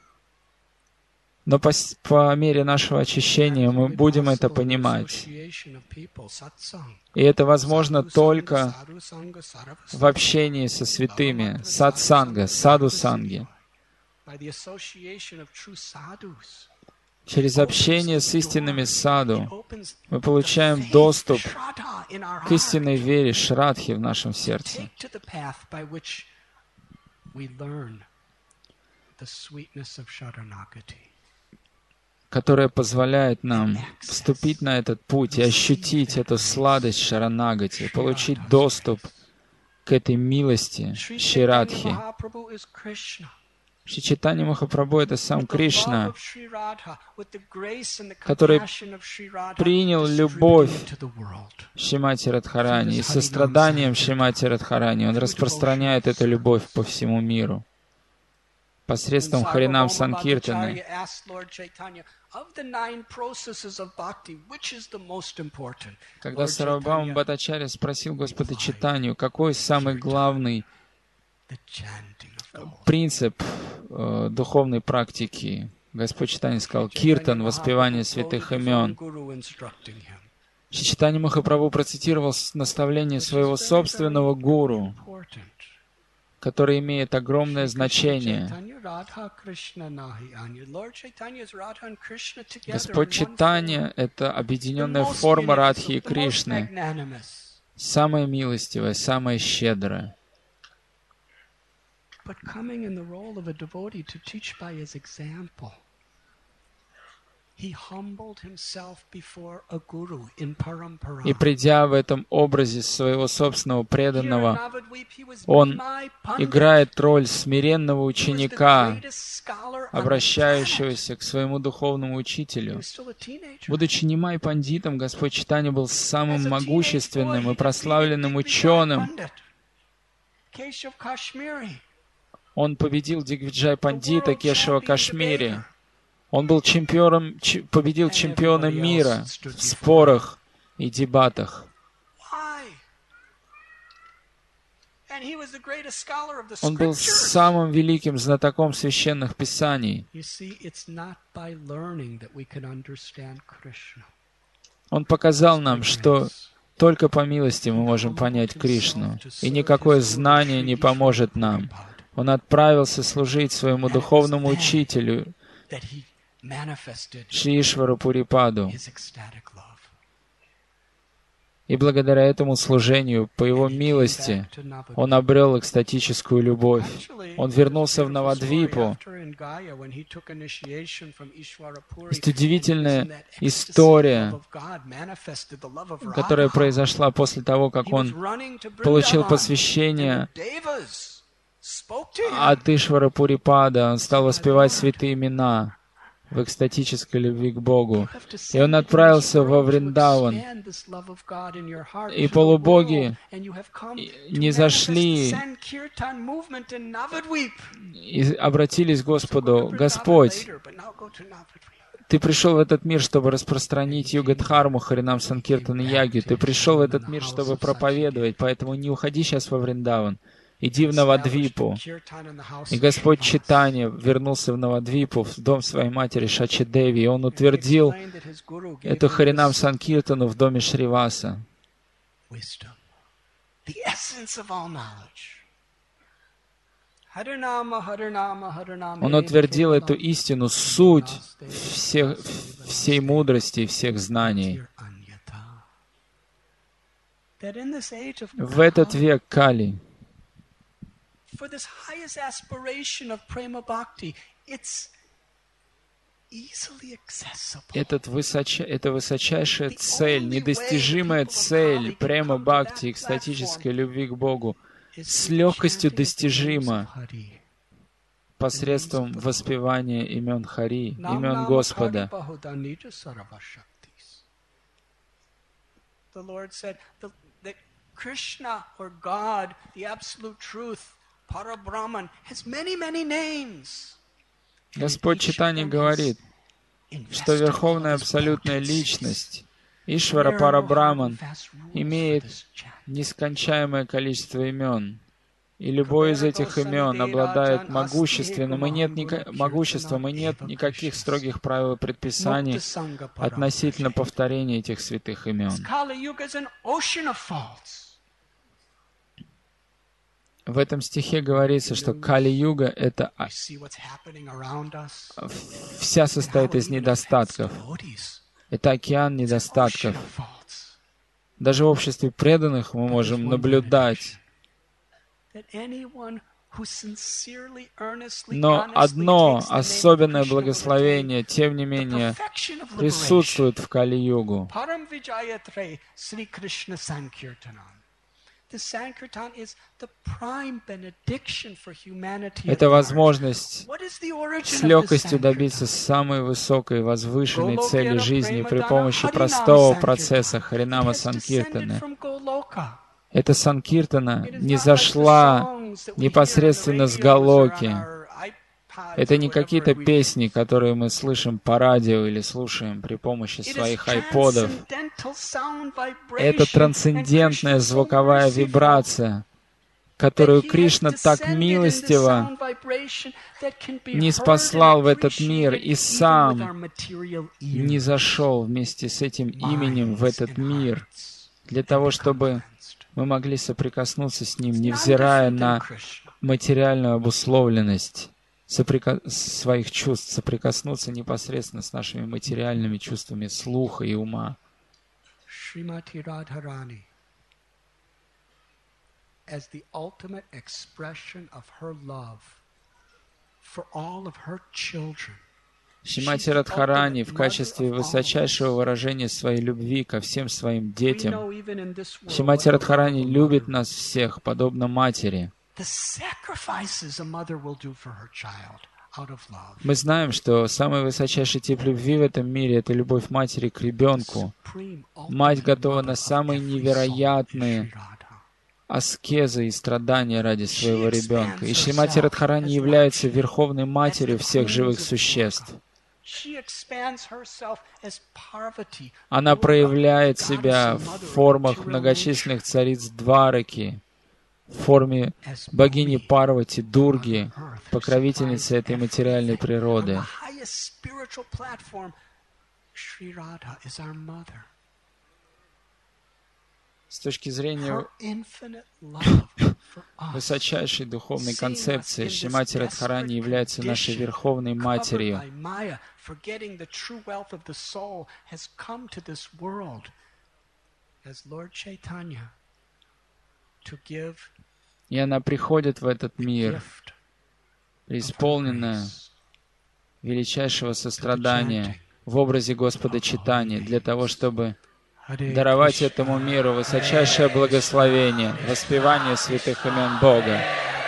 Но по мере нашего очищения мы будем это понимать. И это возможно только в общении со святыми, сатсанга, саду-санги. Через общение с истинными саду мы получаем доступ к истинной вере Шрадхи в нашем сердце, которая позволяет нам вступить на этот путь и ощутить эту сладость Шаранагати, получить доступ к этой милости Ширадхи. Шри Чайтанья Махапрабху — это сам Кришна, который принял любовь Шримати Радхарани, и состраданием Шримати Радхарани Он распространяет эту любовь по всему миру посредством Харинам Санкиртаны. Когда Сарвабхаума Бхаттачарья спросил Господа Чайтанью, какой самый главный принцип духовной практики, Господь Чайтанья сказал: киртан, воспевание святых имен. Шри Чайтанья Махапрабху процитировал наставление своего собственного гуру, который имеет огромное значение. Господь Чайтанья — это объединенная форма Радхи и Кришны, самая милостивая, самая щедрая. И придя в этом образе своего собственного преданного, он играет роль смиренного ученика, обращающегося к своему духовному учителю. Будучи нимай пандитом, Господь Чайтанья был самым могущественным и прославленным ученым. Он победил Дигвиджай Пандита Кешава Кашмири. Он был победил чемпиона мира в спорах и дебатах. Он был самым великим знатоком священных писаний. Он показал нам, что только по милости мы можем понять Кришну, и никакое знание не поможет нам. Он отправился служить своему духовному учителю, Шри Ишвару Пурипаду. И благодаря этому служению, по его милости, он обрел экстатическую любовь. Он вернулся в Навадвипу. Есть удивительная история, которая произошла после того, как он получил посвящение от Ишвара Пурипада. Он стал воспевать святые имена в экстатической любви к Богу. И он отправился во Вриндаван. И полубоги не зашли и обратились к Господу: «Господь, Ты пришел в этот мир, чтобы распространить Югадхарму, Харинам Санкиртан и Ягью. Ты пришел в этот мир, чтобы проповедовать, поэтому не уходи сейчас во Вриндаван. Иди в Навадвипу». И Господь Чайтанья вернулся в Навадвипу, в дом своей матери Шачи-деви, и он утвердил эту Харинам Санкиртану в доме Шриваса. Он утвердил эту истину, суть всей мудрости и всех знаний. В этот век Кали, это высочайшая цель, недостижимая цель према-бхакти, экстатической любви к Богу, с легкостью достижима посредством воспевания имен Хари, имен Господа. Krishna or God, the absolute truth, Parabrahman, has many, many names. Господь Чайтанья говорит, что Верховная Абсолютная Личность, Ишвара Парабраман, имеет нескончаемое количество имен. И любое из этих имен обладает могуществом, и нет никаких строгих правил и предписаний относительно повторения этих святых имен. В этом стихе говорится, что Кали-юга — это вся состоит из недостатков. Это океан недостатков. Даже в обществе преданных мы можем наблюдать. Но одно особенное благословение, тем не менее, присутствует в Кали-югу. Это возможность с легкостью добиться самой высокой, возвышенной цели жизни при помощи простого процесса Харинама Санкиртаны. Эта Санкиртана не зашла непосредственно с Галоки. Это не какие-то песни, которые мы слышим по радио или слушаем при помощи своих айподов. Это трансцендентная звуковая вибрация, которую Кришна так милостиво ниспослал в этот мир и сам не зашел вместе с этим именем в этот мир, для того, чтобы мы могли соприкоснуться с ним, невзирая на материальную обусловленность своих чувств, соприкоснуться непосредственно с нашими материальными чувствами слуха и ума. Шримати Радхарани, as the ultimate expression of her love for all of her children, Шримати Радхарани в качестве высочайшего выражения своей любви ко всем своим детям. Шримати Радхарани любит нас всех, подобно матери. Мы знаем, что самый высочайший тип любви в этом мире — это любовь матери к ребенку. Мать готова на самые невероятные аскезы и страдания ради своего ребенка. И Шримати Радхарани является верховной матерью всех живых существ. Она проявляет себя в формах многочисленных цариц Двараки, в форме богини Парвати, Дурги, покровительницы этой материальной природы. С точки зрения высочайшей духовной концепции, Шримати Радхарани является нашей Верховной Матерью. И она приходит в этот мир, преисполненная величайшего сострадания в образе Господа Чайтаньи, для того, чтобы даровать этому миру высочайшее благословение, воспевание святых имен Бога.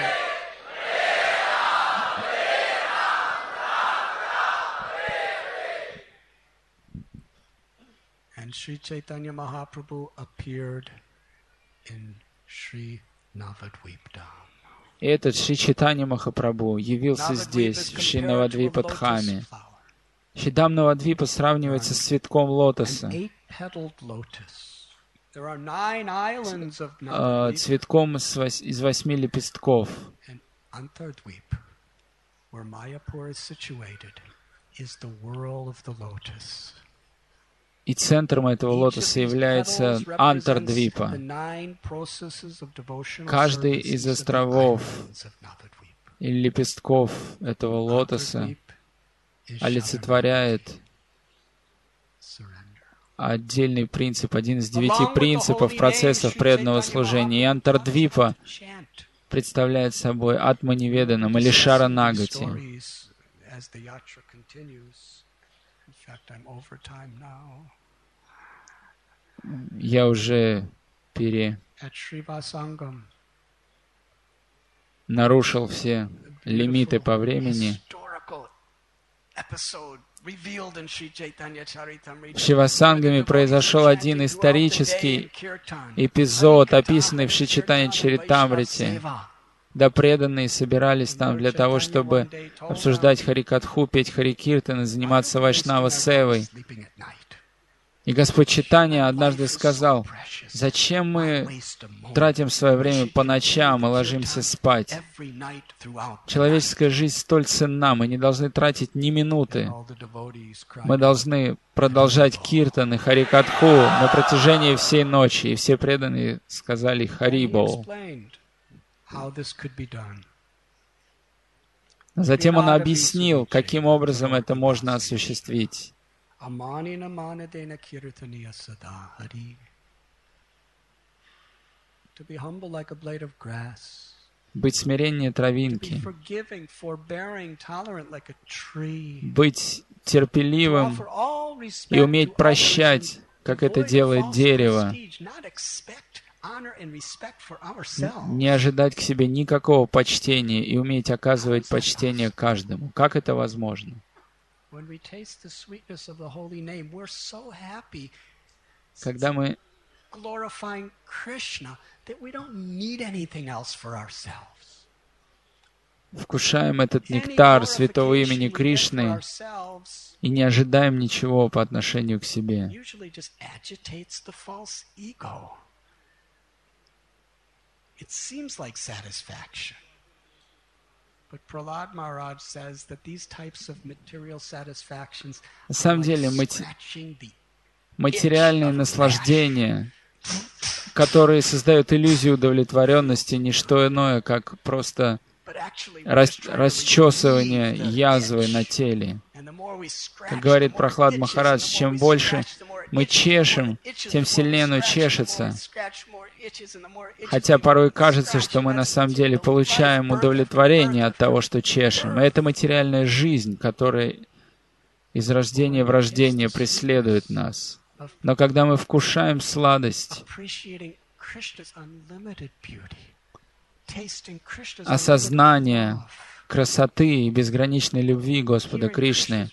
And Sri Chaitanya Mahaprabhu appeared in Sri Navadvipdham. И этот Шри Чайтанья Махапрабху явился здесь, в Шри Навадвипа-дхаме. Шридам Навадвипа сравнивается с цветком лотоса, цветком из 8 лепестков. И центром этого лотоса является Антардвипа. Каждый из островов или лепестков этого лотоса олицетворяет отдельный принцип, один из 9 принципов процессов преданного служения. И Антардвипа представляет собой Атманиведанам или Шаранагати. Я уже нарушил все лимиты по времени. В Шивасангаме произошел один исторический эпизод, описанный в Шри Чайтанья Чаритамрите. Да преданные собирались там для того, чтобы обсуждать Харикатху, петь Харикиртан и заниматься Вайшнава-севой. И Господь Чайтанья однажды сказал: «Зачем мы тратим свое время по ночам и ложимся спать? Человеческая жизнь столь ценна, мы не должны тратить ни минуты. Мы должны продолжать киртан и Харикатху на протяжении всей ночи». И все преданные сказали «Харибол». Затем он объяснил, каким образом это можно осуществить. Быть смиреннее травинки, быть терпеливым и уметь прощать, как это делает дерево, не ожидать к себе никакого почтения и уметь оказывать почтение каждому. Как это возможно? Когда мы вкушаем этот нектар святого имени Кришны и не ожидаем ничего по отношению к себе. На самом деле, материальные наслаждения, которые создают иллюзию удовлетворенности, не что иное, как просто расчесывание язвы на теле. Как говорит Прахлад Махарадж, чем больше мы чешем, тем сильнее оно чешется. Хотя порой кажется, что мы на самом деле получаем удовлетворение от того, что чешем. И это материальная жизнь, которая из рождения в рождение преследует нас. Но когда мы вкушаем сладость, осознание красоты и безграничной любви Господа Кришны,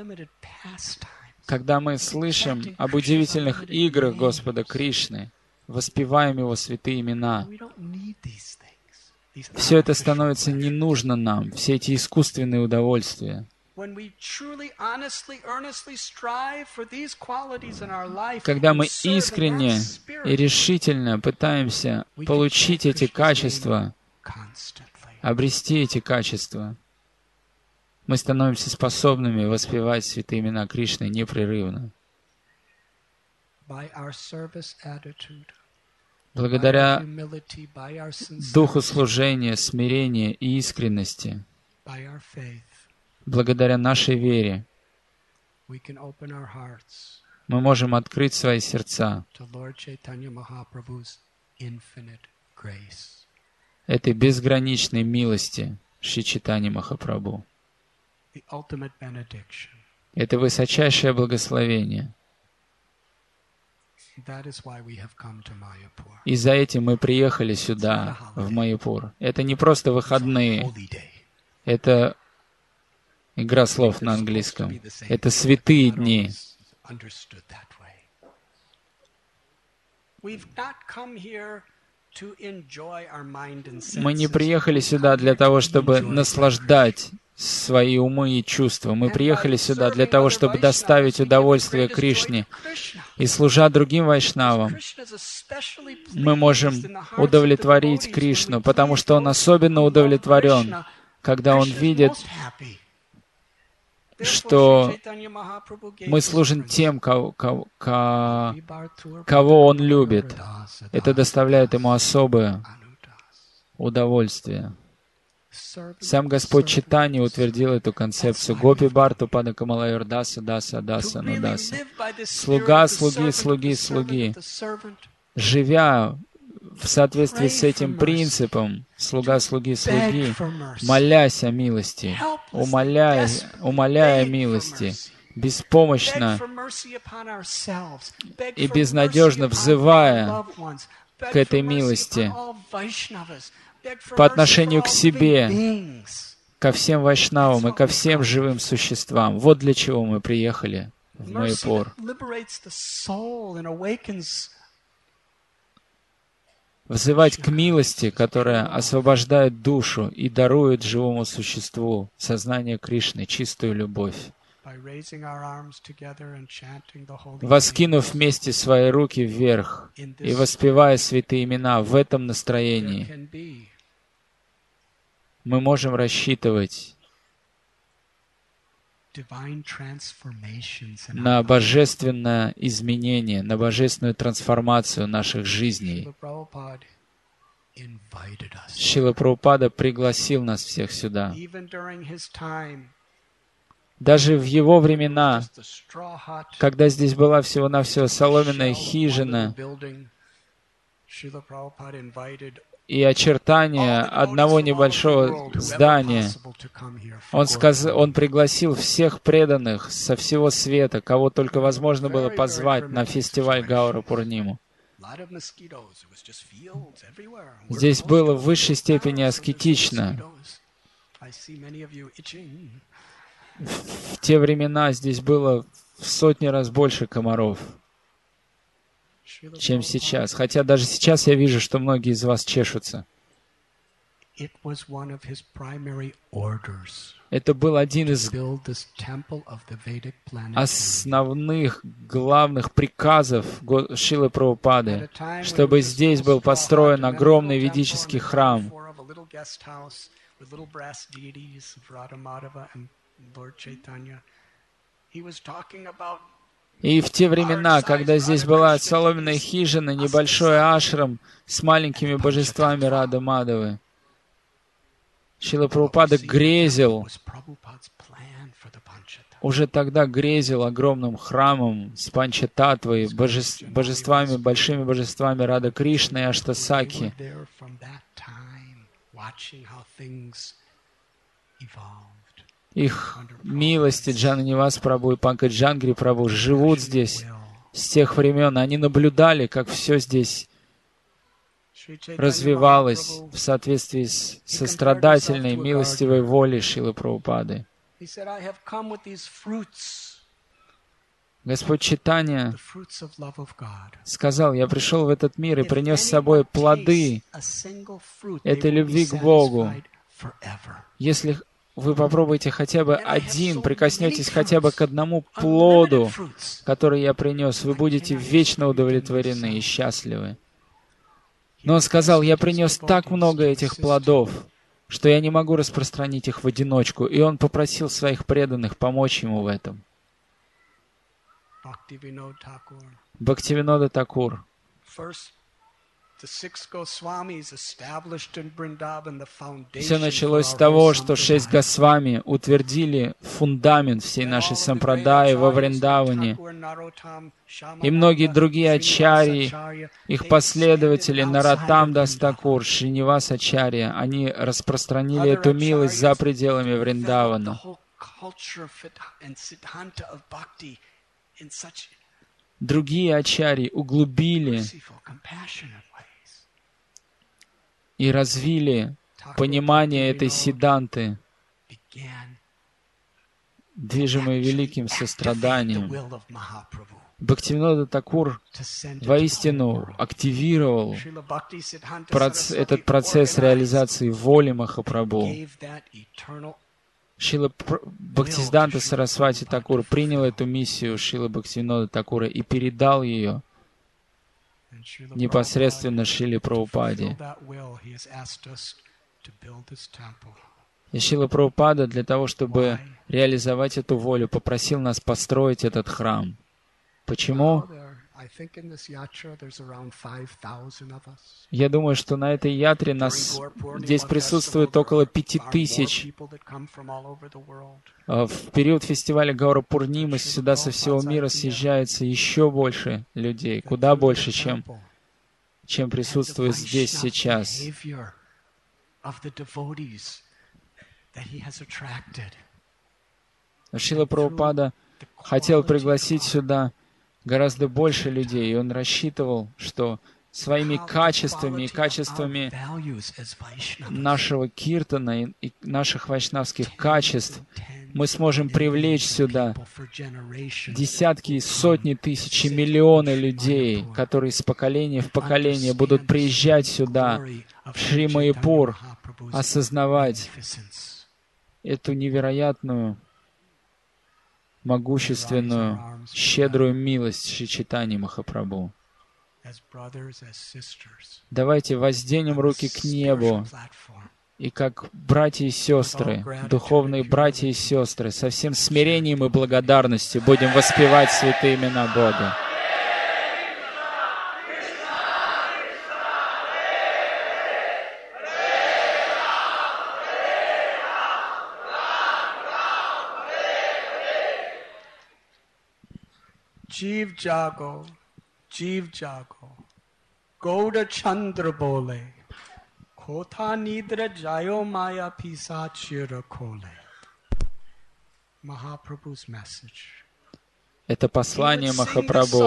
когда мы слышим об удивительных играх Господа Кришны, воспеваем Его святые имена, все это становится не нужно нам, все эти искусственные удовольствия. Когда мы искренне и решительно пытаемся получить эти качества, обрести эти качества, мы становимся способными воспевать святые имена Кришны непрерывно. Благодаря духу служения, смирения и искренности, благодаря нашей вере, мы можем открыть свои сердца этой безграничной милости Шри Чайтанья Махапрабху. Это высочайшее благословение. И за этим мы приехали сюда, в Майяпур. Это не просто выходные. Это игра слов на английском. Это святые дни. Мы не приехали сюда для того, чтобы наслаждать свои умы и чувства. Мы приехали сюда для того, чтобы доставить удовольствие Кришне. И служа другим вайшнавам, мы можем удовлетворить Кришну, потому что Он особенно удовлетворен, когда Он видит, что мы служим тем, кого Он любит. Это доставляет Ему особое удовольствие. Сам Господь Чайтанья утвердил эту концепцию. Гопи Барту Пада Камалайор Даса Даса Даса Нудаса. Слуга, слуги, слуги, слуги. Живя в соответствии с этим принципом, слуга, слуги, слуги, молясь о милости, умоляя о милости, беспомощно и безнадежно взывая к этой милости по отношению к себе, ко всем вайшнавам и ко всем живым существам. Вот для чего мы приехали в Майяпур. Взывать к милости, которая освобождает душу и дарует живому существу сознание Кришны, чистую любовь. Воскинув вместе свои руки вверх и воспевая святые имена в этом настроении, мы можем рассчитывать на божественное изменение, на божественную трансформацию наших жизней. Шрила Прабхупада пригласил нас всех сюда. Даже в его времена, когда здесь была всего-навсего соломенная хижина и очертания одного небольшого здания, он пригласил всех преданных со всего света, кого только возможно было позвать на фестиваль Гаура Пурниму. Здесь было в высшей степени аскетично. В те времена здесь было в сотни раз больше комаров, чем сейчас. Хотя даже сейчас я вижу, что многие из вас чешутся. Это был один из основных, главных приказов Шрилы Прабхупады, чтобы здесь был построен огромный ведический храм. И в те времена, когда здесь была соломенная хижина, небольшой ашрам с маленькими божествами Рады Мадавы, Шрила Прабхупада грезил, уже тогда грезил огромным храмом с Панчататвой, божествами, большими божествами Рада Кришны и Аштасаки. Их милости Джананивас Прабху и Панкаджангри Прабху живут здесь с тех времен. Они наблюдали, как все здесь развивалось в соответствии с сострадательной, милостивой волей Шрилы Прабхупады. Господь Чайтанья сказал: «Я пришел в этот мир и принес с собой плоды этой любви к Богу. Если вы попробуете хотя бы один, прикоснетесь хотя бы к одному плоду, который я принес, вы будете вечно удовлетворены и счастливы». Но он сказал: «Я принес так много этих плодов, что я не могу распространить их в одиночку». И он попросил своих преданных помочь ему в этом. Бхактивинода Такур. Все началось с того, что 6 Госвами утвердили фундамент всей нашей сампрадаи во Вриндаване. И многие другие ачарьи, их последователи, Нароттам Дас Такур, Шринивас Ачарья, они распространили эту милость за пределами Вриндавана. Другие ачарьи углубили и развили понимание этой сиддханты, движимой великим состраданием. Бхактивинода Такур воистину активировал этот процесс реализации воли Махапрабху. Шрила Бхактисиданта Сарасвати Такур принял эту миссию Шрилы Бхактивинода Такура и передал ее непосредственно Шриле Прабхупаде. И Шрила Прабхупада для того, чтобы реализовать эту волю, попросил нас построить этот храм. Почему? Я думаю, что на этой ятре нас здесь присутствует около 5000. В период фестиваля Гаура Пурнимы сюда со всего мира съезжается еще больше людей, куда больше, чем присутствует здесь сейчас. Шрила Прабхупада хотел пригласить сюда гораздо больше людей, и он рассчитывал, что своими качествами и качествами нашего киртана и наших вайшнавских качеств мы сможем привлечь сюда десятки и сотни тысяч и миллионы людей, которые из поколения в поколение будут приезжать сюда, в Шри Майяпур, осознавать эту невероятную, могущественную, щедрую милость Шри Чайтаньи Махапрабху. Давайте возденем руки к небу и как братья и сестры, духовные братья и сестры, со всем смирением и благодарностью будем воспевать святые имена Бога. Jeev jago, Jeev jago, Gauda Chandra bole, Kotha nidra jayo maya pisachira kole. Mahaprabhu's message. Это послание Махапрабху.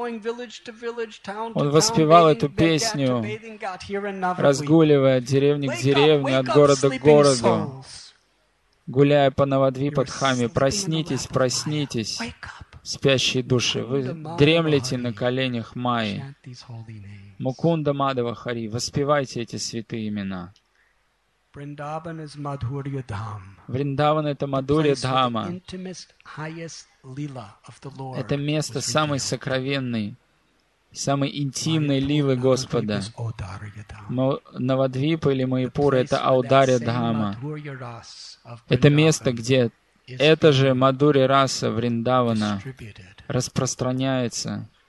Он воспевал эту песню, разгуливая от деревни к деревне, от города к городу, гуляя по Навадвипадхаме. Проснитесь, проснитесь, спящие души. Вы дремлете на коленях Майи. Мукунда Мадава Хари. Воспевайте эти святые имена. Вриндаван — это Мадхурья Дхама. Это место самой сокровенной, самой интимной лилы Господа. Навадвипа или Майяпур — это Аударья Дхама. Это место, где эта же Мадхурья раса Вриндавана распространяется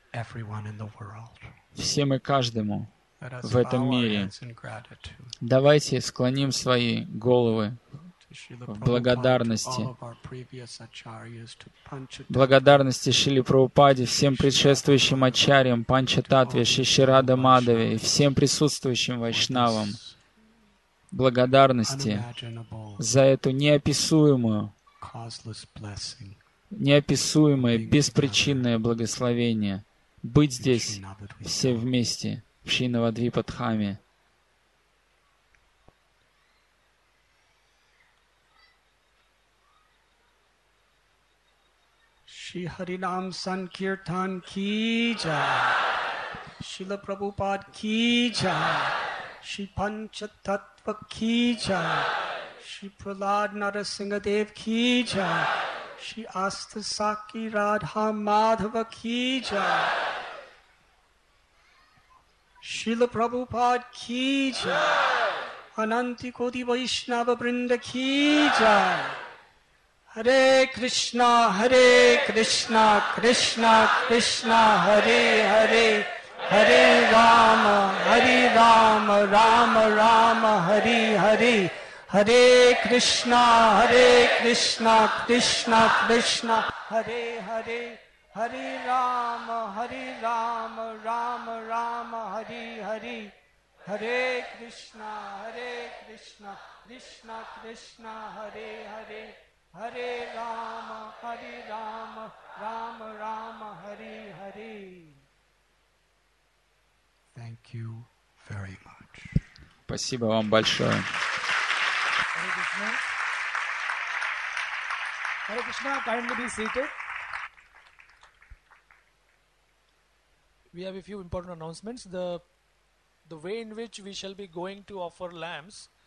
всем и каждому в этом мире. Давайте склоним свои головы в благодарности Шриле Прабхупаде, всем предшествующим ачарьям, Панчататве, Шиширада Мадаве и всем присутствующим вайшнавам. Благодарности за эту неописуемое, беспричинное благословение быть здесь все вместе в Шри Навадвипадхаме. Shri Harinam Sankirtan ki jai, Srila Prabhupada ki jai, Shri Panchatattva ki jai, Shri Prahlad Narasimhadev ki jai, Shri Astasaki Radha Madhava ki jai, Srila Prabhupada ki jai, Ananti Koti Vaishnava Vrinda ki jai. Hare Krishna, Krishna Krishna, Hare Hare, Hare Rama, Rama Rama, Hare Hare, Hare Krishna, Krishna Krishna, Hare Hare, Hare Rama, Rama Rama, Hare Hare, Hare Krishna, Krishna Krishna, Hare Hare. Hare Rama, Rama Rama, Hare Hare. Thank you very much. Спасибо вам большое. Hare Krishna, kindly be seated. We have a few important announcements. The way in which we shall be going to offer lamps